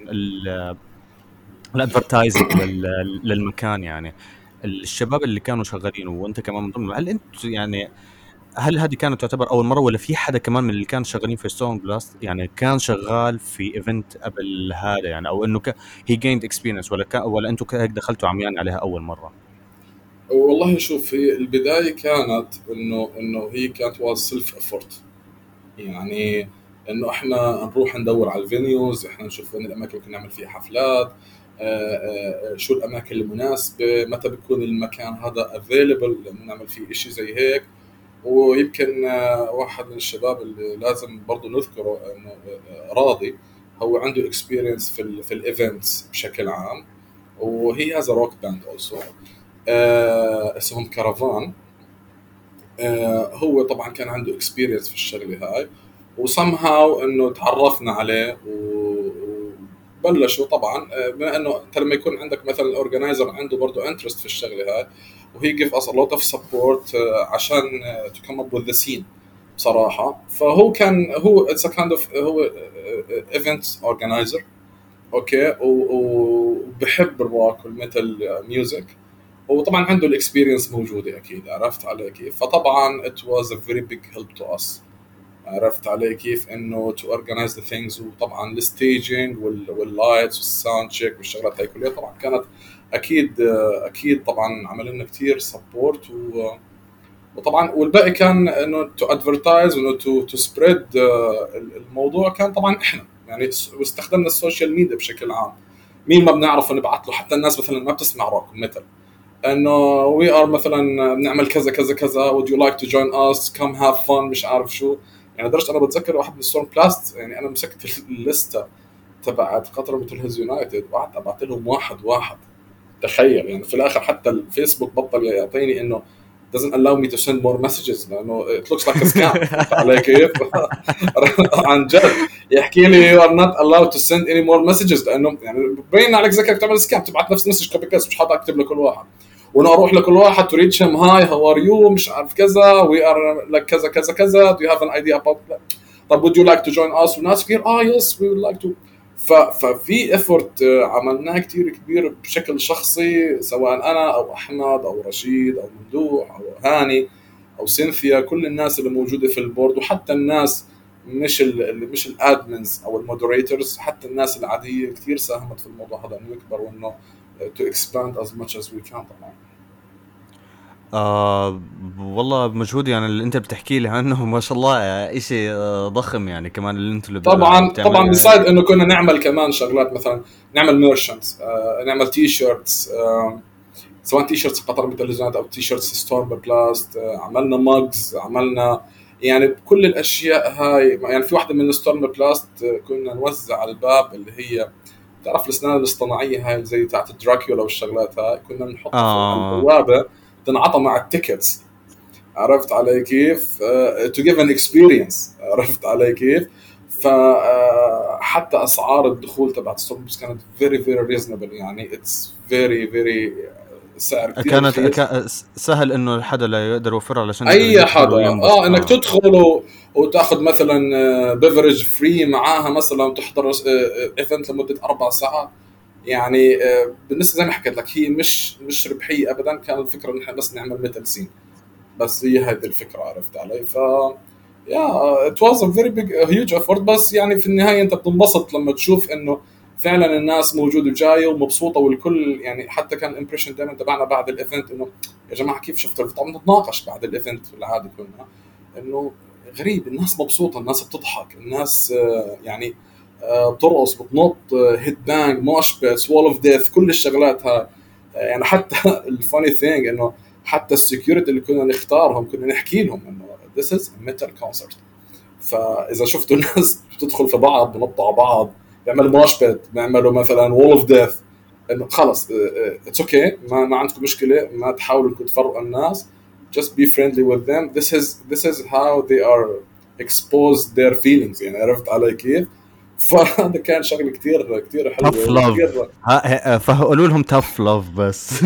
الادفرتايزنج للمكان يعني. الشباب اللي كانوا شغالين وانت كمان من ضمنهم، هل انت يعني، هل هذه كانت تعتبر اول مره، ولا في حدا كمان من اللي كانوا شغالين في ستون بلاست يعني كان شغال في ايفنت قبل هذا يعني، او انه هي جيند اكسبيرينس، ولا انتم هيك دخلتوا عميان عليها اول مره؟ والله شوف، هي البدايه كانت انه هي كانت واز سيلف افورت. يعني انه احنا نروح ندور على الفينيوز، احنا نشوف وين الاماكن اللي ممكن نعمل فيها حفلات، شو الاماكن المناسبه، متى بيكون المكان هذا افيلبل نعمل فيه شيء زي هيك. ويمكن واحد من الشباب اللي لازم برضه نذكره انه راضي، هو عنده اكسبيرينس في الايفنتس بشكل عام، وهي هاز روك باند اولسو اسمهم كارافان. هو طبعا كان عنده اكسبيرينس في الشغله هاي، وسمهاو انه تعرفنا عليه وبلشوا. طبعا بما انه انت لما يكون عندك مثلا الاورجنايزر عنده برضه انترست في الشغله هاي، وهي جيف اس ا لوت اوف سبورت عشان تو كم اب وذ ذا سين بصراحه. فهو كان هو اتس ا كايند اوف، هو ايفنت اورجنايزر اوكي، وبحب الروك والميتال ميوزك. وطبعا عنده الاكسبيرينس موجوده اكيد. عرفت علي كيف؟ فطبعا it was a very big help to us. عرفت علي كيف؟ انه to organize the things. وطبعا الستيجنج واللايتس والساوند تشيك والشغلات هاي كلها طبعا كانت اكيد طبعا عمل لنا كثير سبورت. وطبعا والباقي كان انه تو ادفرتايز وانه تو سبريد الموضوع. كان طبعا احنا يعني واستخدمنا السوشيال ميديا بشكل عام. مين ما بنعرفه نبعث له، حتى الناس مثلا ما بتسمع روك ميتال، انه وي ار مثلا بنعمل كذا كذا كذا would you like to join us come have fun مش عارف شو. يعني لدرجه انا بتذكر واحد من ستورم بلاست، يعني انا مسكت الليسته تبعت قطر مثل هيز يونايتد وقعدت ابعت لهم واحد واحد. تخيل يعني في الاخر حتى الفيسبوك بطل يعطيني انه doesn't allow me to send more messages لانه it looks like a scam. فهمت علي كيف؟ عن جد يحكي لي you are not allowed to send any more messages، لانه يعني ببين عليك زي كانك تعمل سكام، تبعت نفس المسج كوبي بيست، مش حاطط اكتب لكل واحد. وانا اروح لكل واحد to reach him hi how are you مش عارف كذا we are like كذا كذا كذا do you have an idea about that. طب would you like to join us؟ وناس كثير yes we would like to. ففي افورت عملناه كتير كبير بشكل شخصي، سواء انا او احمد او رشيد او ممدوح او هاني او سينثيا، كل الناس اللي موجوده في البورد، وحتى الناس مش الادمنز او المودريتورز، حتى الناس العاديه كثير ساهمت في الموضوع هذا انه يكبر، وانه to expand as much as we can طبعا. والله مجهود يعني اللي انت بتحكي لي عنه ما شاء الله، اشي ضخم يعني، كمان اللي انتوا اللي بتعملوا طبعا يعني بسايد هيك. انه كنا نعمل كمان شغلات، مثلا نعمل ميرشنتس، نعمل تي شيرتس، سواء تي شيرتس قطر بالتلفزيونات او تي شيرتس ستورم بلاست، عملنا ماجز، عملنا يعني كل الاشياء هاي. يعني في واحده من ستورم بلاست كنا نوزع على الباب اللي هي تعرف الاسنان الاصطناعيه هاي زي تاعت دراكولا والشغلات هاي، كنا نحطها فوق على اه البوابه تنعطى مع التيكتس. عرفت علي كيف؟ to give an experience. عرفت علي كيف؟ فحتى اسعار الدخول تبعت ستورم كانت very very reasonable. يعني it's very very سعر كثير كانت رخيص. سهل انه حدا لا يقدر يوفرها علشان يقدر اي يدخل حدا وينبسط. انك تدخل وتاخذ مثلا بيفرج فري معاها مثلا، وتحضر ايفنت لمده 4 ساعات. يعني بالنسبه زي ما حكيت لك هي مش ربحيه ابدا، كان الفكره ان احنا بس نعمل ميتال سين، بس هي هذه الفكره، عرفت علي؟ يا ات واز ا فيري بيج هيوج افورت، بس يعني في النهايه انت بتنبسط لما تشوف انه فعلا الناس موجوده وجايه ومبسوطه، والكل يعني حتى كان الامبريشن دائما تبعنا بعد الايفنت انه يا جماعه كيف شفتوا؟ طبعا نتناقش بعد الايفنت في العاده كنا انه غريب، الناس مبسوطه، الناس بتضحك، الناس يعني بترقص، بتنط، هيد بانج، موش بيتس، وول اوف ديث، كل الشغلات هاي. يعني حتى الفاني ثينج انه حتى السكيورتي اللي كنا نختارهم كنا نحكي لهم انه this is a metal concert. فاذا شفتوا الناس بتدخل في بعض، بنطوا على بعض، بيعملوا موش بيت، بيعملوا مثلا وول اوف ديث، انه خلص اتس اوكي، ما عندكم مشكله، ما تحاولوا انكم تفرقوا الناس، just be friendly with them. This is how they are expose their feelings، يعني عرفت علي كيف؟ فهذا كان شغله كتير كتير حلوه tough love. وكتير فقولوا لهم tough love بس.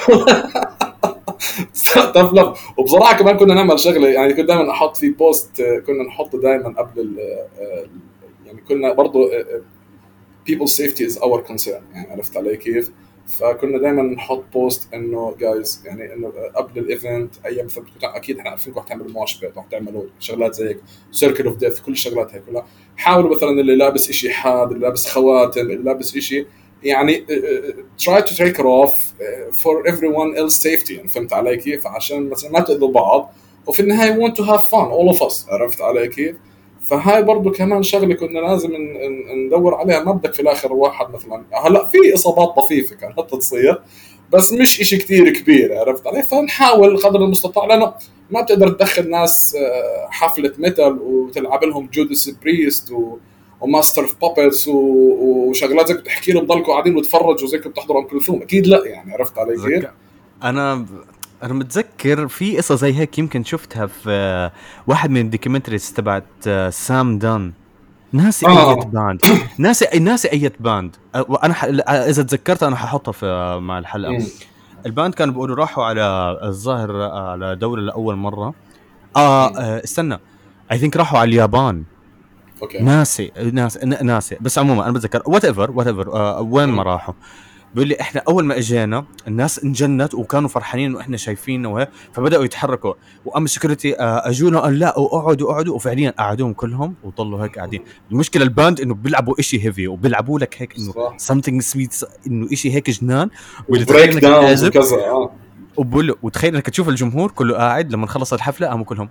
طب لا، وبصراحه كمان كنا نعمل شغله، يعني كنت دائما احط في بوست، كنا نحطه دائما قبل يعني كنا برضه people safety is our concern، يعني عرفت علي كيف؟ فكنا دائما نحط بوست انه جايز، يعني انه قبل الايفنت ايام مثلا اكيد احنا عارفين رح تعملوا موش بيت، رح تعملوا شغلات زي هيك، سيركل اوف ديث، كل الشغلات هي كلها. حاولوا مثلا اللي لابس شيء حاد، اللي لابس خواتم، اللي لابس شيء، يعني try to take it off for everyone else safety، يعني فهمت علي كيف؟ عشان مثلا ما تأذوا بعض، وفي النهاية want to have fun all of us، عرفت علي كيف؟ فهاي برضو كمان شغله كنا لازم ندور عليها. ما بدك في الاخر واحد مثلا، هلا في اصابات طفيفه كانت تصير، بس مش إشي كتير كبير، عرفت علي؟ فنحاول قدر المستطاع، لانه ما بتقدر تدخل ناس حفله ميتال وتلعب لهم جودس بريست وماستر اوف بابتس وشغلات زي بتحكي لهم ضلكم قاعدين وتفرجوا زي بتحضروا ام كلثوم، اكيد لا، يعني عرفت علي كيف؟ انا انا متذكر في قصه زي هيك يمكن شفتها في واحد من الدوكيومنتريز تبعت سام دان. ناسي اية اه باند، ناسي اية باند. وانا اذا تذكرت انا ححطها في مع الحلقه. امم الباند كانوا بيقولوا راحوا على الظاهر على دوله لاول مره. استنى، اي ثينك راحوا على اليابان. اوكي. ناسي بس عموما انا بتذكر وات ايفر وين ما راحوا. بيقول لي احنا اول ما اجينا الناس انجنت وكانوا فرحانين واحنا شايفينه وهيك، فبداوا يتحركوا. واما السكيورتي اجونا قال لا اقعدوا وفعليا قعدوهم كلهم وضلوا هيك قاعدين. المشكله الباند انه بيلعبوا إشي هيفي وبيلعبوا لك هيك انه صح. something sweet، انه إشي هيك جنان. واللي تخيل وبريك انك داونز تعزف وكذا وبقول له، وتخيل انك تشوف الجمهور كله قاعد لما خلص الحفله قاموا كلهم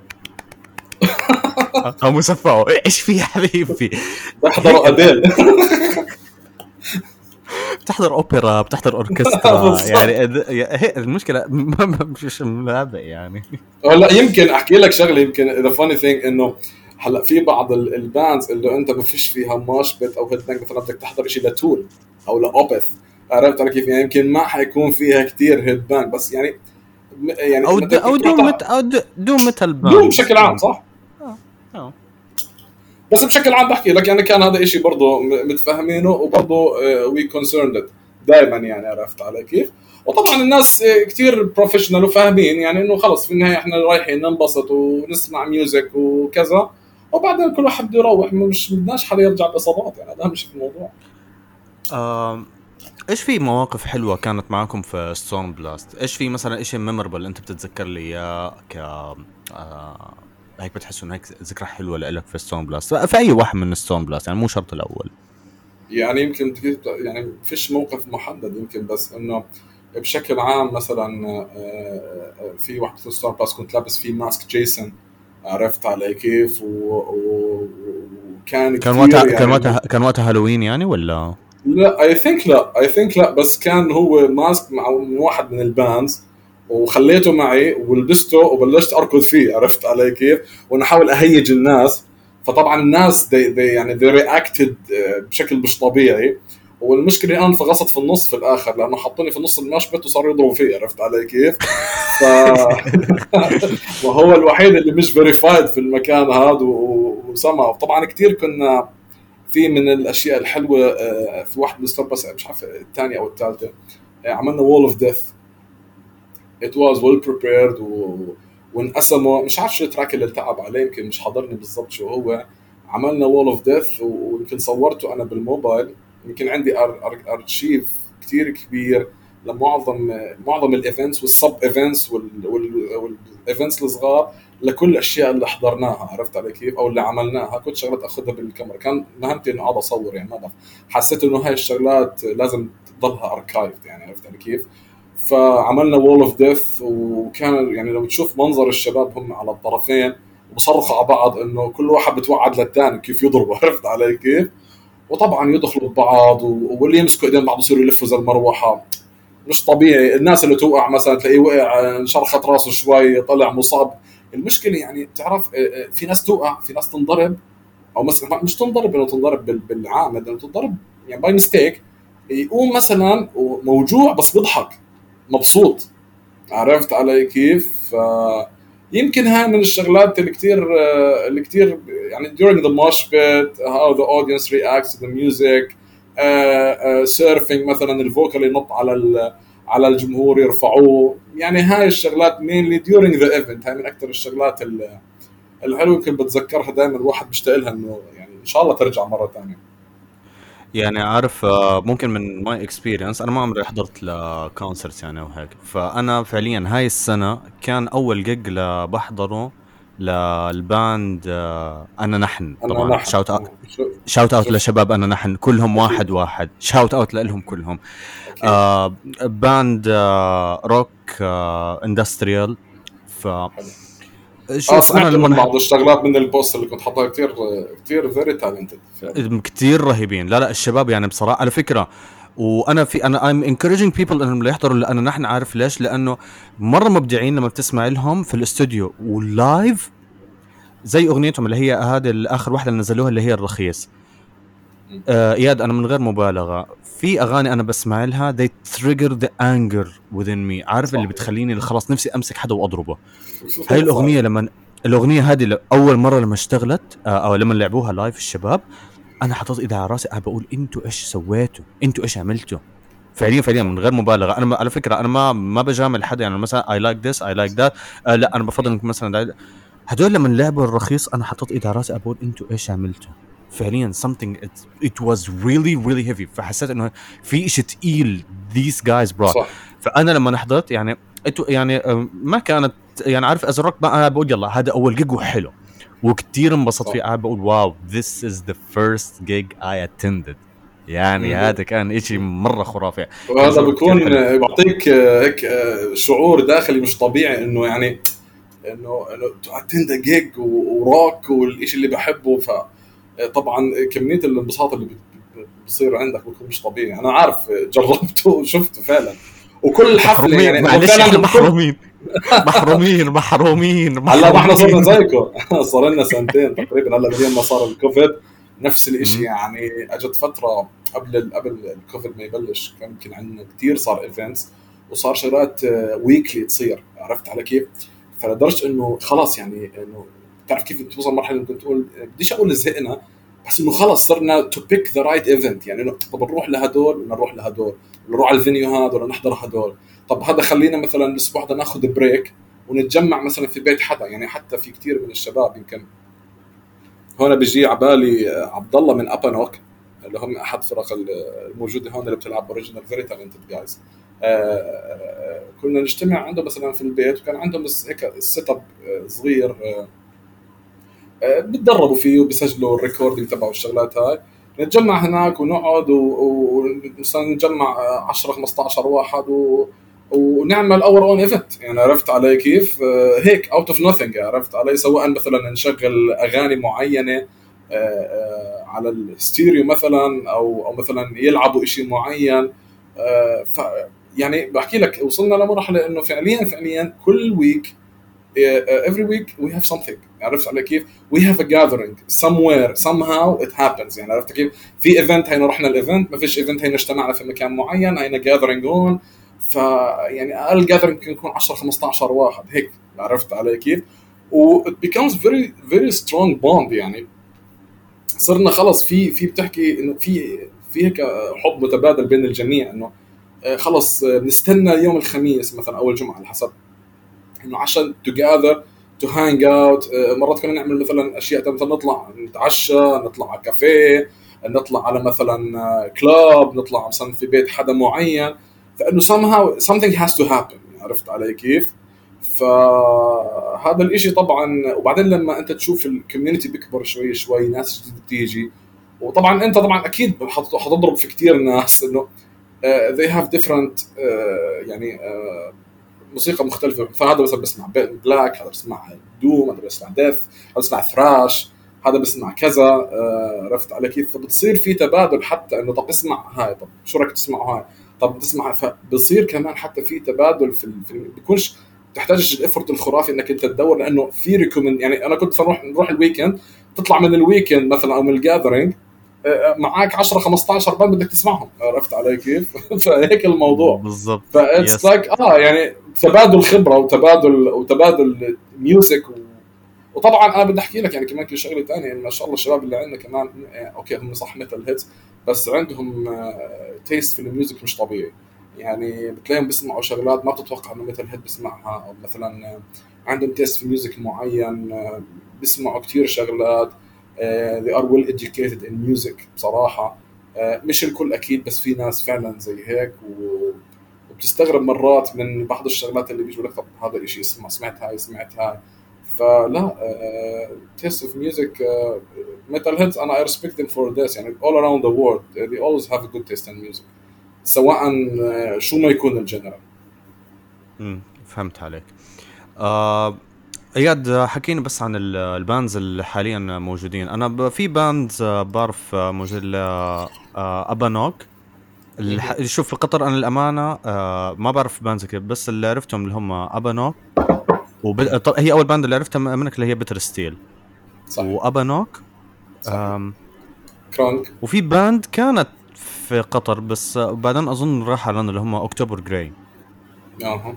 قاموا صفعوا. ايش في يا حبيبي؟ بحضروا هيك اديل. بتحضر اوبرا، بتحضر اوركسترا بالضبط. يعني هي المشكله مش ملعبه يعني. هلا يمكن احكي لك شغله، يمكن ذا فاني ثينج انه هلا في بعض الباندز اللي انت ما فيش فيها ماش بيت او هيد بانج، مثلا بدك تحضر شيء لتول او لاوبث، عرفت علي كيف؟ يعني يمكن ما حيكون فيها كثير هيد بانج، بس يعني يعني او بدك او تروح او دوم ميتال دوم باندز بشكل عام، صح؟ اه اه. بس بشكل عام بحكي لك يعني كان هذا شيء برضه متفاهمينه، وبرضه وي كونسيرند دائما، يعني عرفت علي كيف؟ وطبعا الناس كثير بروفيشنال وفاهمين، يعني انه خلص في النهايه احنا رايحين ننبسط ونسمع ميوزك وكذا، وبعدين كل واحد بده يروح، مش بدناش حدا يرجع باصابات، يعني هذا اهم شيء في الموضوع. ايش في مواقف حلوه كانت معاكم في ستون بلاست؟ ايش في مثلا اشي ميموربل انت بتتذكر لي اياه هيك بتحس انه هيك ذكرى حلوه لك في ستون بلاست، في اي واحد من ستون بلاست يعني مو شرط الاول. يعني يمكن يعني فيش موقف محدد، يمكن بس انه بشكل عام مثلا في واحد في ستار باس كنت لابس فيه ماسك جيسون، عرفت علي كيف؟ وكان كثير يعني كان وقتها هالوين يعني ولا؟ لا اي ثينك لا بس كان هو ماسك مع من واحد من الباندز، وخليته معي ولبسته وبلشت اركض فيه، عرفت علي كيف؟ وانا احاول اهيج الناس. فطبعا الناس يعني they reacted بشكل مش طبيعي. والمشكله انا انفغصت في النص في الاخر، لانه حطوني في نص المشبت وصاروا يضربوا فيه، عرفت علي كيف؟ ف وهو الوحيد اللي مش فيريفايد في المكان هذا وسمع. طبعا كثير كنا في من الاشياء الحلوه في واحد من الستار بس مش عارف الثانيه او الثالثه، عملنا وول اوف ديث. ات واز ويل بريبيرد وانقسموا، مش عارف شو التراك اللي التعب عليه، يمكن مش حاضرني بالضبط شو هو. عملنا وول اوف ديث ويمكن صورته انا بالموبايل، يمكن عندي ارشيف كتير كبير لمعظم الايفنتس والسب ايفنتس والايفنتس الصغار، لكل الاشياء اللي حضرناها، عرفت علي كيف، او اللي عملناها. كنت شغلات اخذها بالكاميرا، كان مهمتي انه اقعد اصور يعني، ما بعرف، حسيت انه هاي الشغلات لازم تضلها اركايف يعني، عرفت علي كيف. فعملنا وول اوف ديث، وكان يعني لو تشوف منظر الشباب هم على الطرفين وبصرخوا على بعض انه كل واحد بتوعد للثاني كيف يضربه، عرفت علي كيف. وطبعا يدخلوا ببعض واللي يمسكوا ايدين بعض يصيروا يلفوا زي المروحه. مش طبيعي الناس اللي توقع مثلا تلاقيه وقع انشرخت راسه شوي طلع مصاب. المشكله يعني بتعرف في ناس توقع، في ناس تنضرب، او مثلا مش تنضرب انه تنضرب بالعامد، انه تنضرب يعني باي ميستيك، يقوم مثلا موجوع بس بيضحك مبسوط، عرفت علي كيف. يمكن هاي من الشغلات اللي كتير يعني during the mosh pit how the audience reacts to the music. surfing مثلا الفوكال ينط على الجمهور يرفعوه، يعني هاي الشغلات mainly during the event. هاي من اكثر الشغلات الحلوه يمكن بتذكرها دائما، الواحد بيشتاق لها انه يعني ان شاء الله ترجع مره ثانيه. يعني عارف ممكن من ماي اكسبيرينس انا ما عمري حضرت لكونسرت يعني او هيك، فانا فعليا هاي السنه كان اول جيج بحضره للباند انا نحن. انا طبعا نحن شاوت اوت شفت لشباب انا نحن كلهم اكيد واحد واحد، شاوت اوت لهم كلهم. اكيد. باند روك اندستريال. ف حلو. شوف انا سمعت لما لهم بعض الشغلات من البوست اللي كنت حاطها، كتير كتير فيري تالنتد فعلا. كتير رهيبين، لا الشباب يعني بصراحه على فكره. وانا I'm encouraging people انهم يحضروا، لانه نحن عارف ليش، لانه مره مبدعين لما بتسمع لهم في الاستوديو واللايف. زي اغنيتهم اللي هي هذه الاخر واحده اللي نزلوها اللي هي الرخيص. اياد انا من غير مبالغه في اغاني انا بسمع لها they trigger the anger within me، عارف اللي صحيح. بتخليني خلاص نفسي امسك حدا واضربه. هاي صحيح. الاغنيه لما الاغنيه هذه اول مره لما اشتغلت او لما لعبوها لايف الشباب، انا حطيت ايدي على راسي قاعد بقول انتوا ايش سويتوا، انتوا ايش عملتوا. فعليا فعليا صح. من غير مبالغه، انا على فكره انا ما بجامل حدا، يعني مثلا اي لايك ذس اي لايك ذات، لا انا بفضل انك مثلا هدول لما لعبوا الرخيص انا حطيت ايدي على راسي اقول انتوا ايش عملتوا. فعليا something it was really really heavy، فحسيت انه في شيء تقيل these guys brought. صح. فانا لما حضرت يعني يعني ما كانت يعني عارف از روك بقى بقول يلا هذا اول جيج وحلو، وكتير انبسطت صح. فيه، قاعد بقول واو this is the first gig I attended. يعني هذا كان اشي مرة خرافي، كان وهذا شعور كتير بيكون حلو. بيعطيك هيك شعور داخلي مش طبيعي، انه يعني انه تو اتند جيج وروك والشيء اللي بحبه. فطبعا كميه الانبساط اللي بصير عندك بيكون مش طبيعي. انا عارف جربته وشفته فعلا، وكل حفله محرومين، يعني هو معلش احنا فعلا كل. محرومين محرومين محرومين هلا ما احنا صرنا محرومين. زيكم صار لنا سنتين تقريبا هلا من يوم ما صار الكوفيد. نفس الاشي مم. يعني، اجت فتره قبل الكوفيد ما يبلش، كان يمكن عندنا كثير صار ايفنتس وصار شغلات ويكلي تصير، عرفت على كيف. فلدرجه انه خلاص يعني انه بتعرف كيف توصل مرحله ممكن تقول بديش اقول زهقنا، بس انه خلص صرنا تو بيك ذا رايت ايفنت. يعني انه طب نروح لهدول ولا نروح لهدول، ولا نروح على الفينيو هذا ولا نحضر هدول. طب هذا خلينا مثلا الاسبوع ده ناخذ بريك ونتجمع مثلا في بيت حدا. يعني حتى في كتير من الشباب يمكن هون بيجي على بالي عبد الله من ابانوك، اللي هم احد فرق الموجوده هون اللي بتلعب اوريجينال فيري تالنتد جايز. كنا نجتمع عنده مثلا في البيت، وكان عندهم هيك سيت اب صغير بتدربوا فيه وبيسجلوا الريكوردينج تبعه والشغلات هاي. نتجمع هناك ونقعد ومثلا نجمع 10 15 واحد ونعمل اور اون ايفنت. يعني عرفت علي كيف هيك اوت اوف نوثينج، عرفت علي. سواء مثلا نشغل اغاني معينه على الستيريو مثلا، او مثلا يلعبوا شيء معين. ف يعني بحكي لك وصلنا لمرحله انه فعليا كل ويك every week we have something. عرفت علي كيف. we have a gathering somewhere somehow it happens. يعني عرفت كيف. في event هينا رحنا الايفنت، ما فيش event هينا اجتمعنا في مكان معين هينا gathering هون. فيعني اقل gathering ممكن يكون 10 15 واحد هيك، عرفت علي كيف. و it becomes very very strong bond. يعني صرنا خلص في بتحكي انه في هيك حب متبادل بين الجميع، انه خلص بنستنى يوم الخميس مثلا او الجمعه على حسب، انه عشان together to hang out. مرات كنا نعمل مثلا اشياء مثلا نطلع نتعشى، نطلع على كافيه، نطلع على مثلا كلاب، نطلع مثلا في بيت حدا معين، فانه somehow something has to happen. عرفت علي كيف؟ فهذا الاشي طبعا. وبعدين لما انت تشوف الكوميونتي بيكبر شوي شوي، ناس جديده بتيجي، وطبعا انت طبعا اكيد حتضرب في كتير ناس انه they have different يعني موسيقى مختلفه. فهذا مثلا بسمع بلاك، هذا بسمع دوم، هذا بسمع ديث، هذا بسمع ثراش، هذا بسمع كذا. عرفت على كيف؟ فبتصير في تبادل، حتى انه طب اسمع هاي، طب شو رايك تسمع هاي، طب تسمع. فبصير كمان حتى في تبادل في بيكونش تحتاجش الافورت الخرافي انك انت تدور، لانه في ريكومند. يعني انا كنت نروح الويكند، تطلع من الويكند مثلا او من الجاذرينج معاك 10 15 باند بدك تسمعهم. عرفت علي كيف؟ فهيك الموضوع. بالضبط، فاتس يس. لايك يعني تبادل خبره وتبادل ميوزك وطبعا انا بدي احكي لك يعني كمان كل شغله ثانيه، يعني ما شاء الله الشباب اللي عندنا كمان اوكي هم صح ميتال هيتس، بس عندهم تيست في الميوزك مش طبيعي. يعني بتلاقيهم بيسمعوا شغلات ما بتتوقع انه ميتال هيد بيسمعها، او مثلا عندهم تيست في ميوزك معين، بيسمعوا كتير شغلات. they are well educated in music بصراحة. مش الكل أكيد، بس في ناس فعلا زي هيك وبتستغرب مرات من بعض الشغلات اللي بيجوا لك طب هذا الإشي سمعت هاي سمعت هاي. فلا taste of music metal heads and I respect them for this. يعني all around the world they always have a good taste in music سواء شو ما يكون الجنرال. فهمت عليك. اياد، حكينا بس عن الباندز اللي حاليا موجودين. انا في باندز بعرف موجود ابانوك. شوف في قطر انا الامانه ما بعرف باندز كيف، بس اللي عرفتهم اللي هم ابانوك هي اول باند اللي عرفتها منك اللي هي بيتر ستيل صح وابانوك. صحيح. كرونك. وفي باند كانت في قطر بس بعدين اظن راح على اللي هم اكتوبر جراي. اها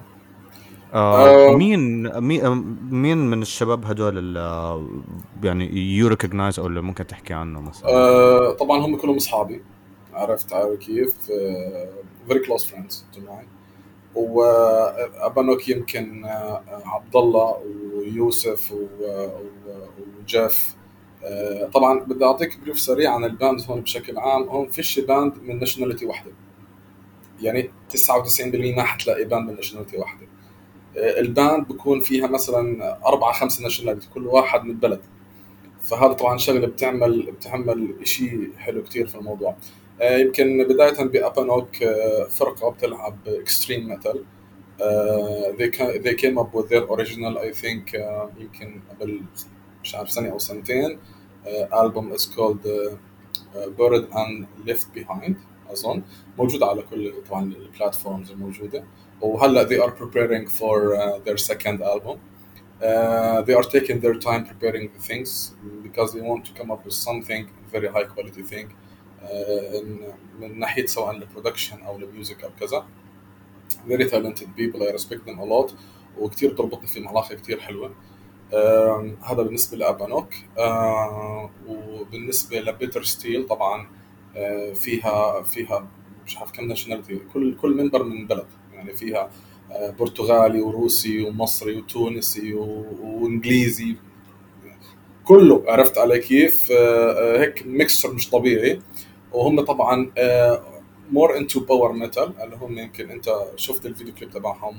مين من الشباب هدول يعني يو ريكوجنايز او اللي ممكن تحكي عنه مثلا؟ طبعا هم كلهم اصحابي. عرفت على كيف؟ very close friends to mine. وابانوك يمكن عبد الله ويوسف وجيف. طبعا بدي اعطيك بريف سريع عن الباند هون بشكل عام. هون فيش باند من ناشوناليتي واحده، يعني 99% ما حتلاقي باند من ناشوناليتي واحده. الباند بكون فيها مثلا 4-5 ناشوناليتي، كل واحد من بلد. فهذا طبعا شغله بتعمل شيء حلو كتير في الموضوع. يمكن بدايه بابانوك فرقه بتلعب اكستريم ميتال. they came up with their original I think يمكن قبل مش عارف سنه او سنتين. album is called Buried and Left Behind اظن، موجود على كل طبعا البلاتفورمز الموجوده. وهلا they are preparing for their second album. They are taking their time preparing the things because they want to come up with something very high quality thing من ناحية سواء البرودكشن أو الميوزك أو كذا. very talented people I respect them a lot وكتير تربطني فيهم علاقة كتير حلوة. هذا بالنسبة لأبانوك. وبالنسبة لبيتر ستيل طبعا فيها مش عارف كم ناشوناليتي، كل منبر من بلد. يعني فيها برتغالي وروسي ومصري وتونسي وانجليزي، كله. عرفت علي كيف؟ هيك ميكسر مش طبيعي. وهم طبعا مور انتو باور ميتال، اللي هم يمكن انت شفت الفيديو كليب تبعهم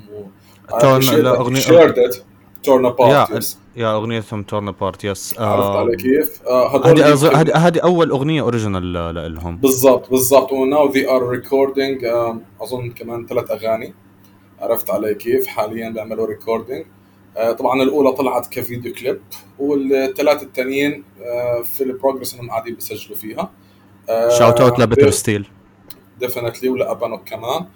تورن ابارت. يا اغنيتهم تورن ابارت، يس. عرفت علي كيف؟ هذول هذه اول اغنيه اوريجينال لهم. بالضبط. وناو ذي ار ريكوردينج اظن كمان 3 اغاني. عرفت علي كيف؟ حاليا بيعملوا ريكوردينج. طبعا الاولى طلعت كفيديو كليب، والثلاثه الثانيين في البروجرس انهم قاعدين بيسجلوا فيها. شاوت اوت لبيتر ستيل ديفينتلي، ولا ابانوك كمان.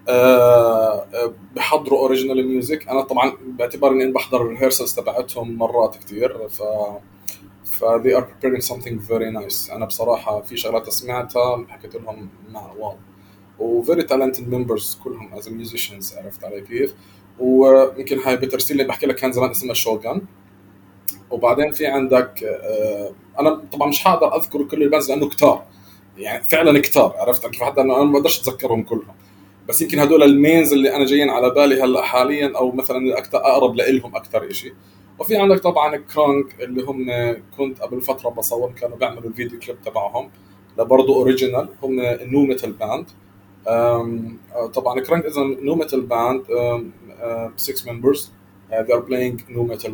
بحضروا اوريجينال ميوزك. انا طبعا باعتبار اني بحضر الريهرسلز تبعتهم مرات كتير، ف they are preparing something very nice. انا بصراحه في شغلات سمعتها حكيت لهم واو. و very talented members كلهم as musicians. عرفت علي كيف؟ ويمكن هاي بيتر ستيل اللي بحكي لك كان زمان اسمها شوغان. وبعدين في عندك انا طبعا مش حقدر اذكر كل الباندز لانه كتار، يعني فعلا كتار. عرفت كيف؟ حتى انا ما بقدرش اتذكرهم كلهم، بس يمكن هدول المينز اللي انا جايين على بالي هلا حاليا، او مثلا الاكثر اقرب لهم اكثر شيء. وفي عندك طبعا كرانك اللي هم كنت قبل فتره بصور، كانوا بيعملوا الفيديو كليب تبعهم برضه اوريجينال، هم نو ميتال باند. طبعا كرانك is a nu metal band, 6 members. They are playing nu metal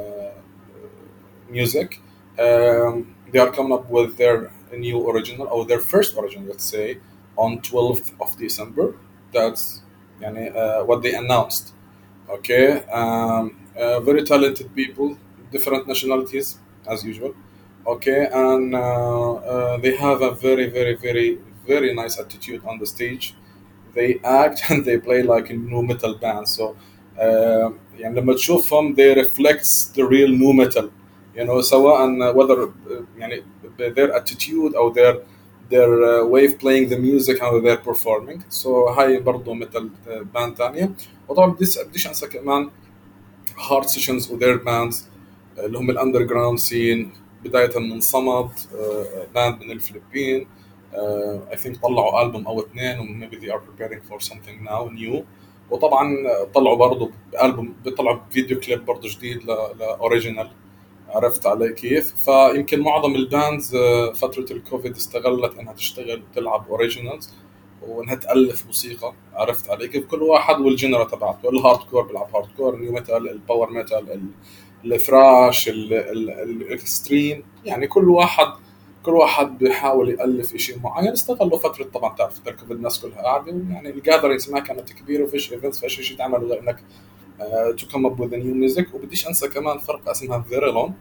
music. They are coming up with their new original, or their first original, let's say, on 12th of December. That's يعني, what they announced. Okay, very talented people, different nationalities as usual. Okay, and they have a very nice attitude on the stage. They act and they play like a nu metal band. So يعني لما تشوفهم they reflects the real nu metal, you know, سواء whether يعني their attitude or their way of playing the music how they're performing. So هاي برضو مثل باند ثانية. وطبعا بديش انسى كمان هارد سيشنز وذير باندز اللي هم الاندرجراوند سين، بداية من صمد، باند من الفلبين. I think طلعوا ألبوم أو اثنين و maybe they are preparing for something now new. وطبعا طلعوا برضو ألبوم، بيطلعوا فيديو كليب برضو جديد لأوريجينال. عرفت علي كيف؟ فيمكن معظم الباندز فترة الكوفيد استغلت انها تشتغل وتلعب اوريجينالز وانها تألف موسيقى. عرفت علي كيف؟ كل واحد والجنرا تبعته، الهارد كور بيلعب هارد كور، النيو ميتال، الباور ميتال، الثراش، الاكستريم. يعني كل واحد بيحاول يألف شيء معين. استغلوا فترة، طبعا تعرف الكوفيد الناس كلها قاعدة، يعني الجاذرينجز ما كانت كبيرة وفيش ايفنتس، فيش شيء تعمل غير انك to come up with a new music. وبديش انسى كمان فرقة اسمها فيريلون.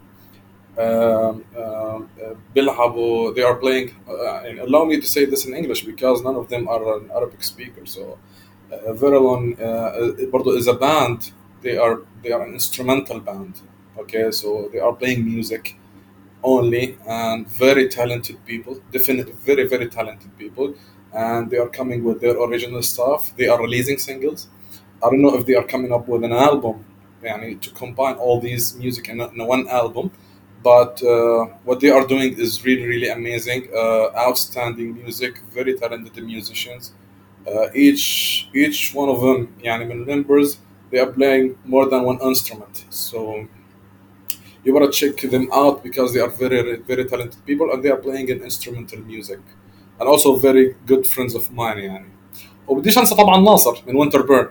بيلعبوا they are playing and allow me to say this in English because none of them are an Arabic speaker. So Verilon برضو is a band. They are an instrumental band. Okay, so they are playing music only, and very talented people, definitely very talented people, and they are coming with their original stuff. They are releasing singles. I don't know if they are coming up with an album, يعني to combine all these music in one album, but what they are doing is really amazing. Outstanding music, very talented musicians. Each one of them, يعني من members, they are playing more than one instrument. So you want to check them out because they are very talented people, and they are playing an instrumental music, and also very good friends of mine يعني. وبديش انسى طبعا ناصر من وينتر بيرن.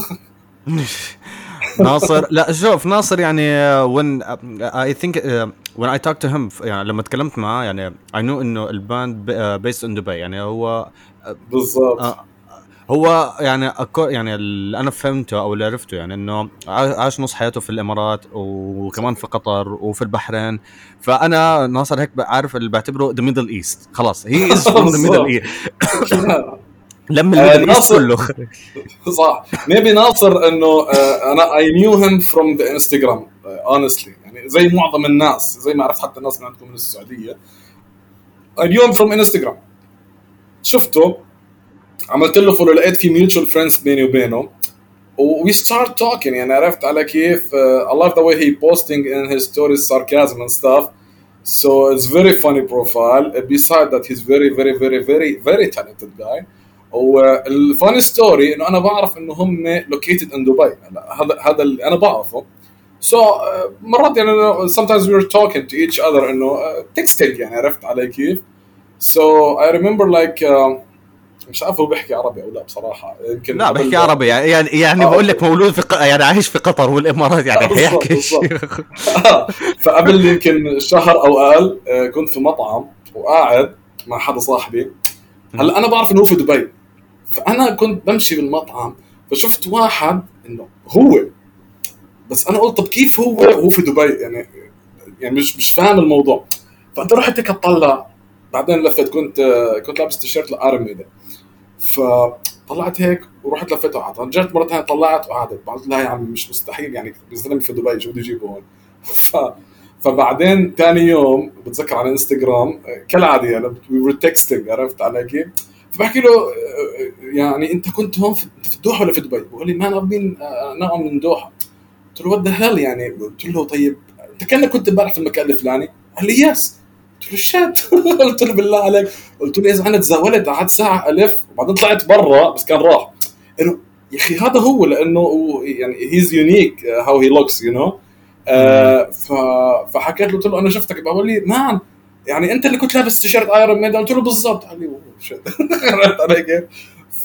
ناصر، لا شوف ناصر يعني when I think when I talked to him يعني لما تكلمت معاه يعني I knew انه الباند based in Dubai. يعني هو بالضبط. هو يعني اللي انا فهمته او اللي عرفته يعني انه عاش نص حياته في الامارات وكمان في قطر وفي البحرين. فانا ناصر هيك عارف اللي بعتبره the middle east. خلاص he is from the middle east. لم الميدل ايست كله. صح. maybe ناصر انه انا I knew him from the Instagram honestly. يعني زي معظم الناس، زي ما عرفت حتى الناس من عندكم من السعودية، I knew him from Instagram. شفته، عملت له فولو، لقيت في mutual friends بيني وبينه، we start talking. يعني عرفت على كيف. I love the way he posting in his stories sarcasm and stuff. So it's very funny profile. Besides that he's very talented guy. والفاني ستوري انه انا بعرف انه هم located in دبي. هذا اللي انا بعرفه. So مرات يعني sometimes we were talking to each other انه texting. يعني عرفت علي كيف. So I remember like مش عارف هو بيحكي عربي او لا بصراحه. يمكن لا بحكي عربي يعني بقول لك مولود في يعني عايش في قطر والامارات يعني حيحكي. فقبل يمكن شهر او اقل كنت في مطعم وقاعد مع حدا صاحبي. هلا انا بعرف انه هو في دبي، فانا كنت بمشي بالمطعم فشفت واحد انه هو، بس انا قلت طب كيف هو في دبي؟ يعني مش فاهم الموضوع. فانت رحت هيك اطلع، بعدين لفت كنت لابس تيشيرت لارمي ده، فطلعت هيك ورحت لفيته وقعدت. رجعت مرة ثانية طلعت وقعدت. قلت لا يا عم مش مستحيل، يعني الزلمة في دبي شو بده يجيبه هون؟ فبعدين ثاني يوم بتذكر على انستغرام كالعادة يعني we were texting. عرفت علي كيف؟ فبحكي له يعني انت كنت هون في الدوحة ولا في دبي؟ بقول لي ما بين نعم من دوحة. قلت له what the hell يعني. قلت له طيب انت كأنك كنت امبارح في المكان الفلاني؟ قال لي يس. قلت له شات. قلت له بالله عليك. قلت له اذا انا تزاولت قعدت ساعه الف وبعدين طلعت برا بس كان راح. انه يا اخي هذا هو، لانه يعني هيز يونيك هاو هي لوكس يو نو. فحكيت له، قلت له انا شفتك. بقول لي مان يعني انت اللي كنت لابس تيشيرت ايرون ميدن؟ قلت له بالضبط. قال لي "أوه، shit." عرفت علي كيف؟ ف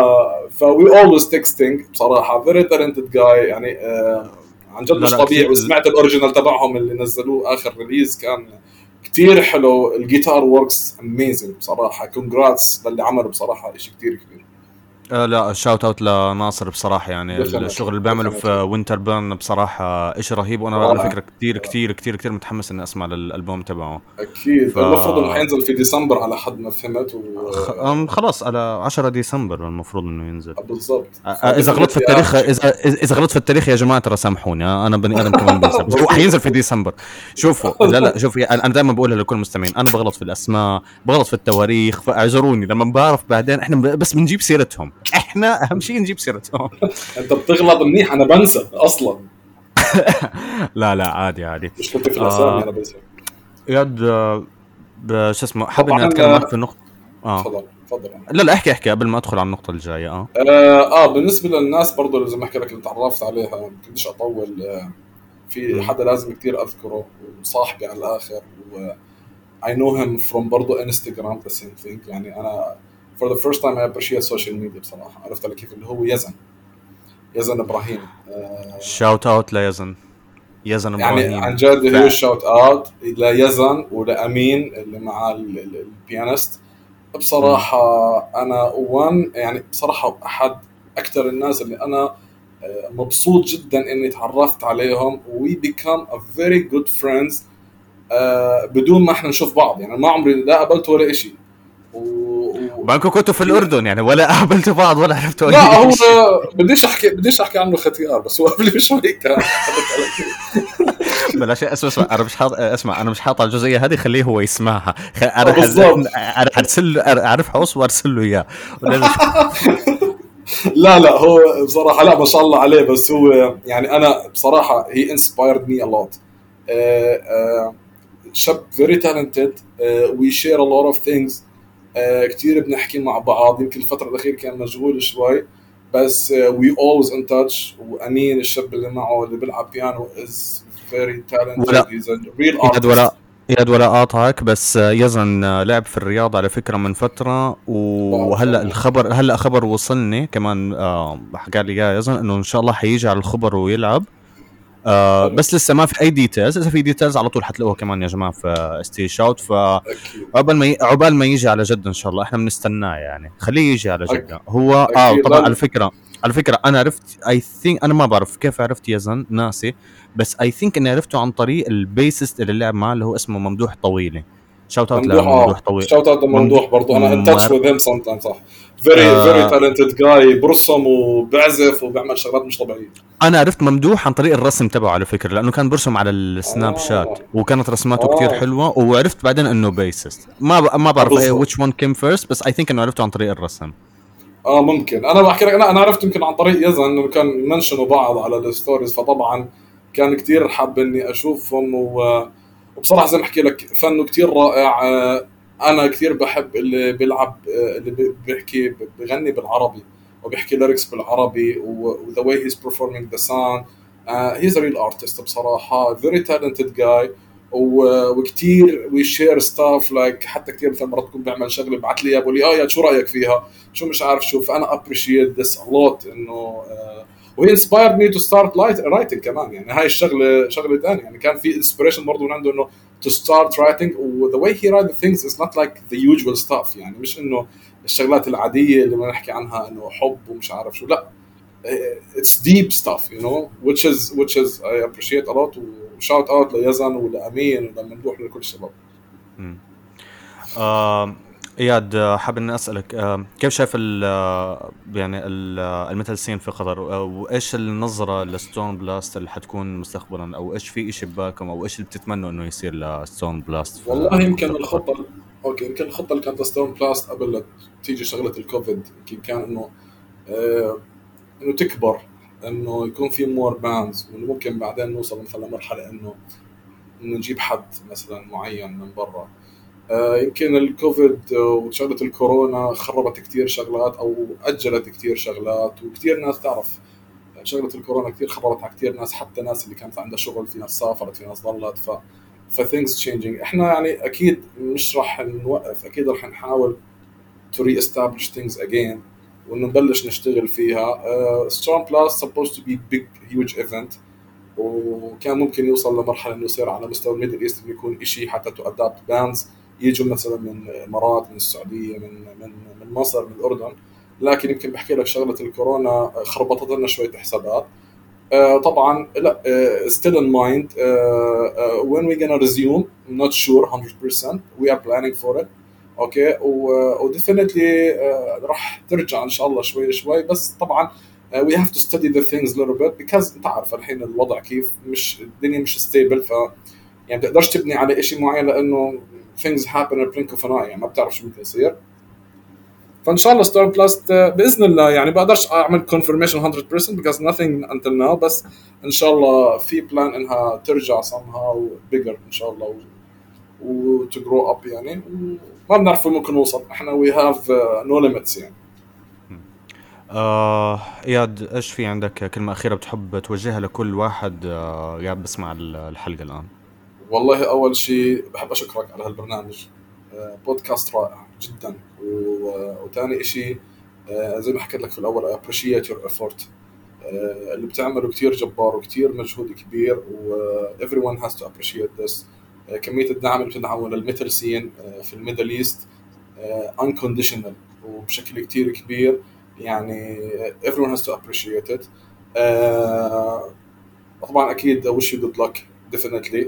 وي اولويز تكستنج بصراحه. فيري تالنتد جاي يعني، عن جد لا مش لا طبيعي. كثير. وسمعت الاوريجينال تبعهم اللي نزلوه اخر ريليز، كان كتير حلو. الجيتار وركس اميزنج بصراحه. كونجراتس للي عمله بصراحه، شيء كتير كبير. لا شاوت اوت لناصر بصراحة، يعني الشغل ديفينتلي اللي بيعمله في ديفينتلي وينتر بيرن بصراحة إشي رهيب. وأنا على رائع. فكرة كتير كتير كتير كتير متحمس إني أسمع للألبوم تبعه. ف اكيد المفروض انه حينزل في ديسمبر على حد ما فهمت. خلاص على 10 ديسمبر المفروض إنه ينزل. بالضبط. اذا غلطت في فديفينتلي التاريخ، اخر شيء. اذا غلطت في التاريخ يا جماعه ترى سامحوني، انا بني ادم كمان بنسى، بس هو بسيط حينزل في بسيط. ديسمبر. شوفوا، لا شوفي، انا دائما بقولها لكل المستمعين، انا بغلط في الاسماء، بغلط في التواريخ، فاعذروني لما بعرف بعدين. احنا بس بنجيب سيرتهم، احنا اهم شيء نجيب سيرتهم. انت بتغلط منيح، انا بنسى اصلا. لا لا عادي عادي. مشكلتي في الاسامي، آه انا بنسى. ياد شو اسمه، حابب طبعا اني اتكلم معك في النقطه. اه تفضل تفضل. لا لا، احكي قبل ما ادخل على النقطه الجايه. بالنسبه للناس برضو اللي زي ما احكي لك اللي تعرفت عليها، ما بديش اطول. في امم حدا لازم كتير اذكره، وصاحبي على الاخر، و I know him from برضو انستغرام the same thing. يعني انا for the first time I appreciate social media بصراحه. عرفت على كيف؟ اللي هو يزن ابراهيم. شاوت اوت ليزن، يزن يعني عن ابراهيم. جد هيو شوت اوت ليزن ولامين اللي مع البيانست. امم بصراحة أنا يعني بصراحة أحد أكثر الناس اللي أنا مبسوط جدا إني تعرفت عليهم. we become a very good friends بدون ما إحنا نشوف بعض. يعني ما عمري لا قابلته ولا إشي. وبانكو كنتوا في كتير. الاردن يعني، ولا قابلتوا بعض ولا عرفتوا لا اي هو شيء؟ بديش أحكي عنه ختيار، بس هو قبل بشوي كان عرفت علي كيف؟ بلاش. اسمع انا مش حاط، اسمع انا مش حاط على الجزئيه هذه، خليه هو يسمعها. بالضبط. انا حرسل له، اعرف حوص وارسل له اياه. ولا لا لا هو بصراحة لا ما شاء الله عليه. بس هو يعني أنا بصراحة he inspired me a lot. شاب very talented. we share a lot of things. كتير بنحكي مع بعض. يمكن الفترة الأخيرة كان مشغول شوي، بس we always in touch. وأمين الشاب اللي معه اللي بيلعب بيانو is very talented. ولا he's a real يد artist. ولا يد ولا قاطعك، بس يزن لعب في الرياض على فكره من فتره، بعرف وهلا أنا. الخبر، هلا خبر وصلني كمان، حكى لي يا يزن انه ان شاء الله حيجي على الخبر ويلعب. حلو. بس لسه ما في اي ديتيلز. اذا في ديتيلز على طول حتلاقوها كمان يا جماعه في ستي شوت. أكيد عقبال ما يجي على جده ان شاء الله، احنا بنستناه يعني، خليه يجي على جده. هو أكيد طبعا على لا. فكره، على فكره انا عرفت، اي ثينك، انا ما بعرف كيف عرفت يزن، ناسي. بس اي ثينك اني عرفته عن طريق البيسست اللي لعب معاه، اللي هو اسمه ممدوح طويلي. شوت اوت ممدوح لممدوح طويل. شوت اوت ممدوح لممدوح برضه. انا ان تاتش مر... وذ هيم سم تايم. صح. فيري آه تالنتد جاي. برسم وبعزف وبيعمل شغلات مش طبيعيه. انا عرفت ممدوح عن طريق الرسم تبعه على فكره، لانه كان برسم على السناب شات اه وكانت رسماته كتير اه حلوه. وعرفت بعدين انه بيسست. ما بعرف ايه بالضبط. which one came first، بس اي ثينك انه عرفته عن طريق الرسم. ممكن انا بحكي لك. انا عرفت يمكن عن طريق يزن انه كان منشنوا بعض على الستوريز. فطبعا كان كتير حاب اني اشوفهم. وبصراحه زي ما احكي لك فنه كتير رائع. انا كتير بحب اللي بيلعب، اللي بيحكي بغني بالعربي وبيحكي ليركس بالعربي. وذا واي هيز performing ذا سونج. هيز ا ريل ارتست بصراحه. فيري تالنتد جاي. وكتير وي شير ستاف لايك. حتى كتير مثلا مرات تكون بيعمل شغله ببعث لي اياها بقول لي يا شو رايك فيها، شو مش عارف شو. فانا ابريشيت ذس ا لوت انه وهي انسبايرد مي تو ستارت رايتنج كمان. يعني هاي الشغله شغله ثانيه. يعني كان في انسبريشن برضه من عنده انه to start writing. و the way he write the things is not like the usual stuff. يعني مش انه الشغلات العاديه اللي بنحكي عنها انه حب ومش عارف شو. لا it's deep stuff, you know, which is I appreciate a lot. وشاوت اوت ليزن ولامين ولممدوح لكل الشباب. مم. آه اياد، حابب اني اسالك، كيف شايف يعني الميتال سين في قطر، وايش النظره لستون بلاست اللي حتكون مستقبلا، او ايش في شيء ببالكم، او ايش اللي بتتمنوا انه يصير لستون بلاست والله في يمكن قطر؟ الخطه اوكي يمكن الخطه اللي كانت ستون بلاست قبل لا تيجي شغله الكوفيد يمكن كان انه آه انه تكبر، انه يكون في مور باندز. وانه ممكن بعدين نوصل مثلا لمرحله انه نجيب حد مثلا معين من برا. يمكن الكوفيد وشغلة الكورونا خربت كتير شغلات أو أجلت كتير شغلات. وكتير ناس تعرف شغلة الكورونا كتير خبرت على كتير ناس. حتى ناس اللي كانت عندها شغل، في ناس سافرت، في ناس ضلت. فthings changing. احنا يعني اكيد مش راح نوقف، اكيد راح نحاول to re-establish things again وانه نبلش نشتغل فيها. Storm Plus supposed to be big huge event، وكان ممكن يوصل لمرحله انه يصير على مستوى الميدل ايست، انه يكون شيء حتى تو ادابت باندز يجوا مثلا من الامارات، من السعوديه، من مصر، من الاردن. لكن يمكن بحكي لك شغله الكورونا خربطت لنا شويه حسابات. طبعا لا still in mind when we gonna resume I'm not sure 100%. we are planning for it. اوكي وديفينتلي راح ترجع ان شاء الله شوي شوي، بس طبعا we have to study the things a little bit because انت عارف الحين الوضع كيف، مش الدنيا مش ستيبل، ف يعني بتقدرش تبني على شيء معين لانه things happen in a blink of an eye، يعني ما بتعرف شو ممكن يصير. فان شاء الله ستار بلاست باذن الله، يعني بقدرش اعمل confirmation 100% because nothing until now، بس ان شاء الله في بلان انها ترجع somehow bigger ان شاء الله و to grow up يعني. ما بنعرف وين ممكن نوصل، احنا we have no limits يعني. اياد، ايش في عندك كلمة أخيرة بتحب توجهها لكل واحد قاعد بسمع الحلقة الآن؟ والله اول شيء بحب اشكرك على هالبرنامج، بودكاست رائع جدا. وثاني شيء زي ما حكيت لك في الاول I appreciate your effort. اللي بتعمله كتير جبار وكتير مجهود كبير، و everyone has to appreciate this. كمية الدعم اللي بتدعمه للميتال سين في الميدل ايست unconditional وبشكل كتير كبير، يعني everyone has to appreciate it. طبعا اكيد wish you good luck definitely.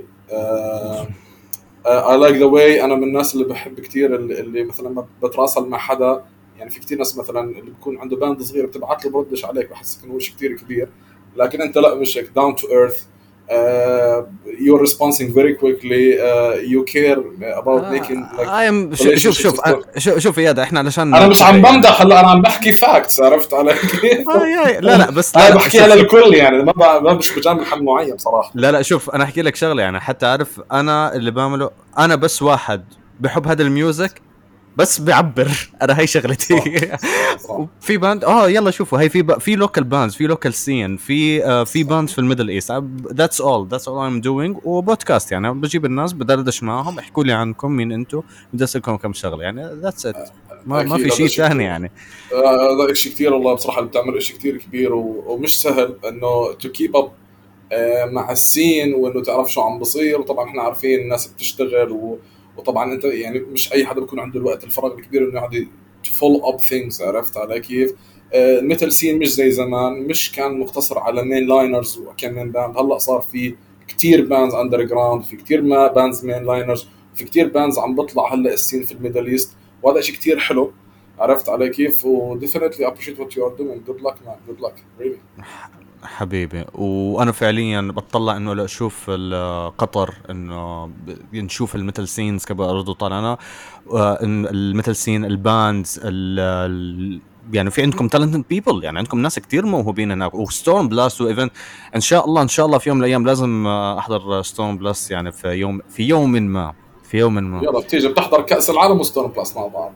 I like the way انا من الناس اللي بحب كتير اللي مثلا بتراسل مع حدا، يعني في كتير ناس مثلا اللي بيكون عنده باند صغير بتبعت له بردش عليك، بحسك انه شيء كتير كبير، لكن انت لا، مش هيك down to earth. You're responding very quickly. You care about making like شوف يا ده، احنا علشان انا مش عم بمدح هلا، انا عم بحكي فاكتس، عرفت علي كيف؟ لا بس انا بحكيها للكل يعني، ما مش بجامل حد معين صراحه. لا شوف، انا احكي لك شغله يعني حتى اعرف انا اللي بعمله. انا بس واحد بحب هذا الميوزك بس بعبر، انا هاي شغلتي. صح. في باند يلا شوفوا، هاي في لوكال باندز، في لوكال سين، في باندز في الميدل ايست. that's all I'm doing. وبودكاست يعني بجيب الناس بدردش معهم، احكوا لي عنكم، مين انتم، بدي اسالكم كم شغله يعني. that's it. ما في شيء ثاني يعني. هذا شيء كثير والله بصراحه، اللي بتعمل شيء كثير كبير ومش سهل انه to keep up مع السين، وانه تعرف شو عم بصير. وطبعا احنا عارفين الناس بتشتغل، وطبعا انت يعني مش اي حدا بيكون عنده الوقت الفراغ الكبير انه يقعد فول اب ثينجز، عرفت علي كيف؟ الميتال سين مش زي زمان، مش كان مقتصر على مين لاينرز وكم من باند. هلا صار في كتير باندز اندر جراوند، في كتير ما باندز مين لاينرز، في كتير باندز عم بطلع هلا السين في الميدل ايست، وهذا شيء كتير حلو، عرفت علي كيف؟ و definitely appreciate what you are doing. good luck man, good luck really. حبيبي. وانا فعليا بتطلع انه لاشوف قطر، انه نشوف الميتال سينز كبرضو طالعنا، الميتال سين، الباندز، يعني في عندكم talented people، يعني عندكم ناس كتير موهوبين هناك. وستورم بلاست وايفنت ان شاء الله في يوم من الايام لازم احضر ستورم بلاست، يعني في يوم ما يلا بتيجي بتحضر كأس العالم وستون بلاس مع بعض.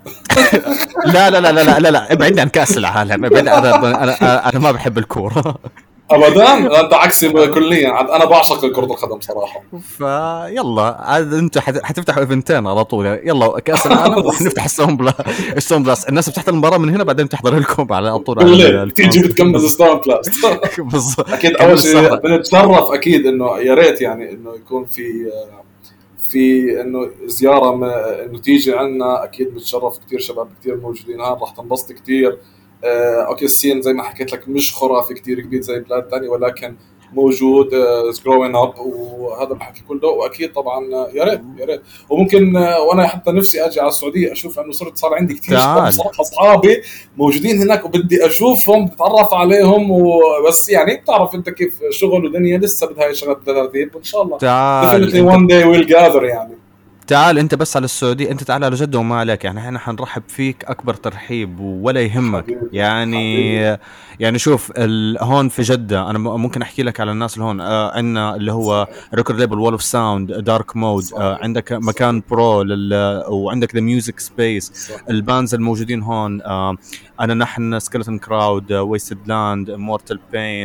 لا ابعدني عن كأس العالم، انا ما بحب الكورة ابدا، انت عكسي كليا. انا بعشق كرة القدم صراحة. فيلا عاد انتوا حتفتحوا ايفنتين على طول، يلا كأس العالم وحنفتح ستون بلاس. الناس بتحضر المباراة من هنا، بعدين بتحضر لكم على طول تيجي بتكمز ستون بلاس. اكيد اول شيء بنتشرف اكيد انه يا ريت يعني انه يكون في انه زياره انه تيجي عنا، اكيد بنتشرف. كثير شباب كثير موجودين هون، راح تنبسط كثير. اوكي السين زي ما حكيت لك مش خرافي كثير كبير زي بلاد ثانيه، ولكن موجود جروين اب، وهذا الحكي كله. واكيد طبعا يا ريت وممكن وانا حتى نفسي اجي على السعوديه اشوف، انه صار عندي كثير اصحابي موجودين هناك وبدي اشوفهم، بتعرف عليهم، وبس يعني بتعرف انت كيف شغل ودنيا، لسه بدها هاي شغله ترتيب، وان شاء الله definitely one day we'll gather يعني. تعال انت بس على السعودية، انت تعال على جدة وما عليك، يعني احنا حنرحب فيك اكبر ترحيب ولا يهمك. حبيبي. يعني شوف هون في جدة، انا ممكن احكي لك على الناس اللي هون. عندنا اللي هو ريكورد ليبل وول اوف ساوند، دارك مود، عندك مكان برو وعندك ذا ميوزك سبيس، البانز الموجودين هون. نحن سكيلتون كراود، ويستد لاند، مورتال بين،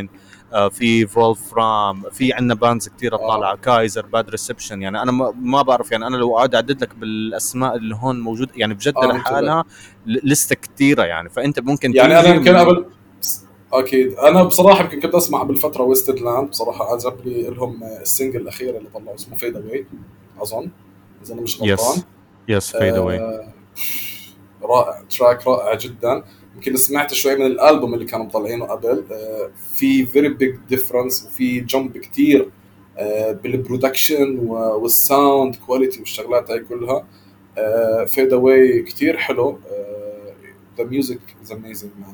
في فولفرام، في عندنا باندز كتير طالعه، كايزر، باد ريسبشن. يعني انا ما بعرف، يعني انا لو قاعد اعدد لك بالاسماء اللي هون موجود يعني بجد منتبه. لحالها لسه كتيره يعني. فانت ممكن يعني انا تيجي يمكن قبل، اكيد انا بصراحه يمكن كنت اسمع بالفتره ويستد لاند، بصراحه عجبني لهم السنجل الاخير اللي طلعوا اسمه فيد اواي اظن، اذا انا مش غلطان. يس فيد اواي. آه، رائع، تراك رائع جدا. يمكن سمعت شوي من الالبوم اللي كانوا مطلعينه قبل، في فيري بيج ديفرنس وفي جمب كتير بالبرودكشن والساوند كواليتي والشغلات هاي كلها. فيد اواي كتير حلو. ذا ميوزك از اميزنج مان.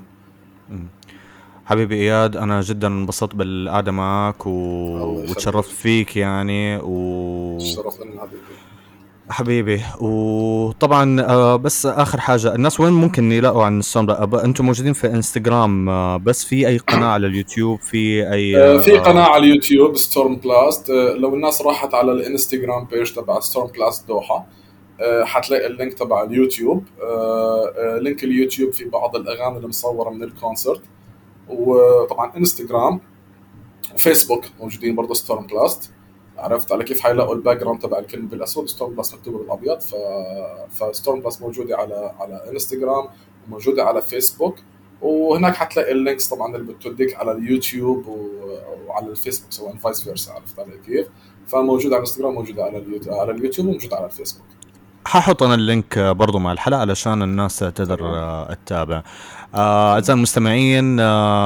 حبيبي اياد، انا جدا انبسطت بالقعده معك الله وتشرفت يخليك. فيك يعني الشرف لنا حبيبي. حبيبي. وطبعا بس اخر حاجه، الناس وين ممكن يلاقوا عن الساوند؟ انتم موجودين في انستغرام بس في اي قناه على اليوتيوب، في اي في قناة على اليوتيوب ستورم بلاست. لو الناس راحت على الانستغرام بيج تبع ستورم بلاست دوحة، حتلاقي اللينك تبع اليوتيوب. لينك اليوتيوب في بعض الأغاني اللي مصورة من الكونسرت. وطبعا انستغرام وفيسبوك موجودين برضه ستورم بلاست. عرفت على كيف حيلاقوا الباك جراوند تبع الكلمة بالأسود، ستورم بلاست مكتوبة بالأبيض. فستورم بلاست موجودة على انستغرام وموجودة على فيسبوك. وهناك حتلاقي اللينكس طبعا اللي بتوديك على اليوتيوب وعلى الفيسبوك، سواء فايس فيرسا. عرفت علي كيف؟ فموجود على الانستغرام، موجود على اليوتيوب وموجود على الفيسبوك. ححط انا اللينك برضو مع الحلقه علشان الناس تقدر تمام. تتابع. تمام. اعزائي المستمعين،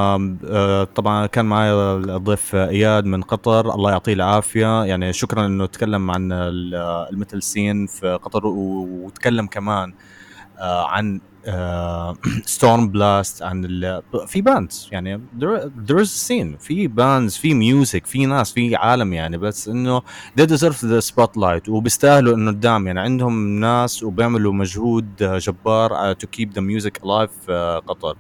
طبعا كان معي الضيف اياد من قطر، الله يعطيه العافيه. يعني شكرا انه تكلم عن الميتال سين في قطر، وتكلم كمان عن ستورم بلاست، عن في باندز يعني there is a scene، في باندز، في ميوزك، في ناس، في عالم يعني. بس انه they deserve the spotlight وبيستاهلوا انه قدام. يعني عندهم ناس وبيعملوا مجهود جبار to keep the music alive في قطر.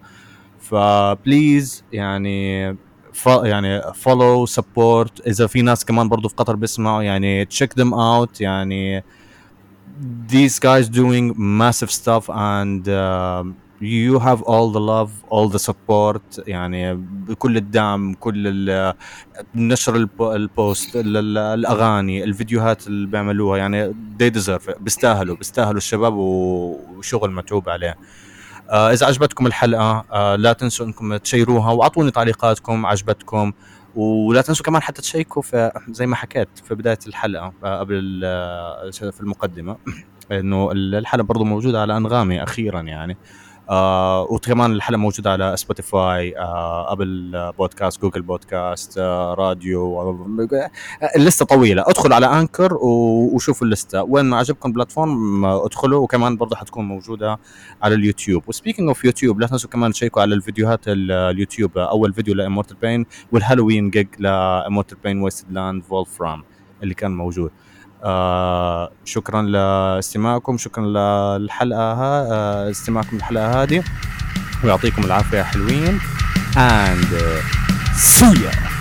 فبليز يعني يعني follow support. اذا في ناس كمان برضو في قطر بيسمعوا يعني check them out. يعني these guys doing massive stuff and you have all the love, all the support. يعني بكل الدعم، كل نشر البوست، الاغاني، الفيديوهات اللي بيعملوها. يعني they deserve، بيستاهلوا الشباب وشغل متعوب عليه. اذا عجبتكم الحلقه لا تنسوا انكم تشيروها واعطوني تعليقاتكم عجبتكم. ولا تنسوا كمان حتى تشيكوا في زي ما حكيت في بدايه الحلقه قبل في المقدمه انه الحلقه برضو موجوده على انغامي اخيرا يعني. وكمان الحلقه موجوده على سبوتيفاي، ابل بودكاست، جوجل بودكاست، راديو. اللسته طويله. ادخلوا على انكر وشوفوا اللسته، وين ما عجبكم بلاتفورم ادخلوا. وكمان برضه حتكون موجوده على اليوتيوب. وسبيكينج اوف يوتيوب، لا تنسوا كمان تشيكوا على الفيديوهات اليوتيوب. اول فيديو لامورتال بين والهالوين جيج لامورتال بين ويستد لاند فولفرام اللي كان موجود. شكرا لاستماعكم، شكرا للحلقه استماعكم للحلقه هذه، ويعطيكم العافيه حلوين and see ya.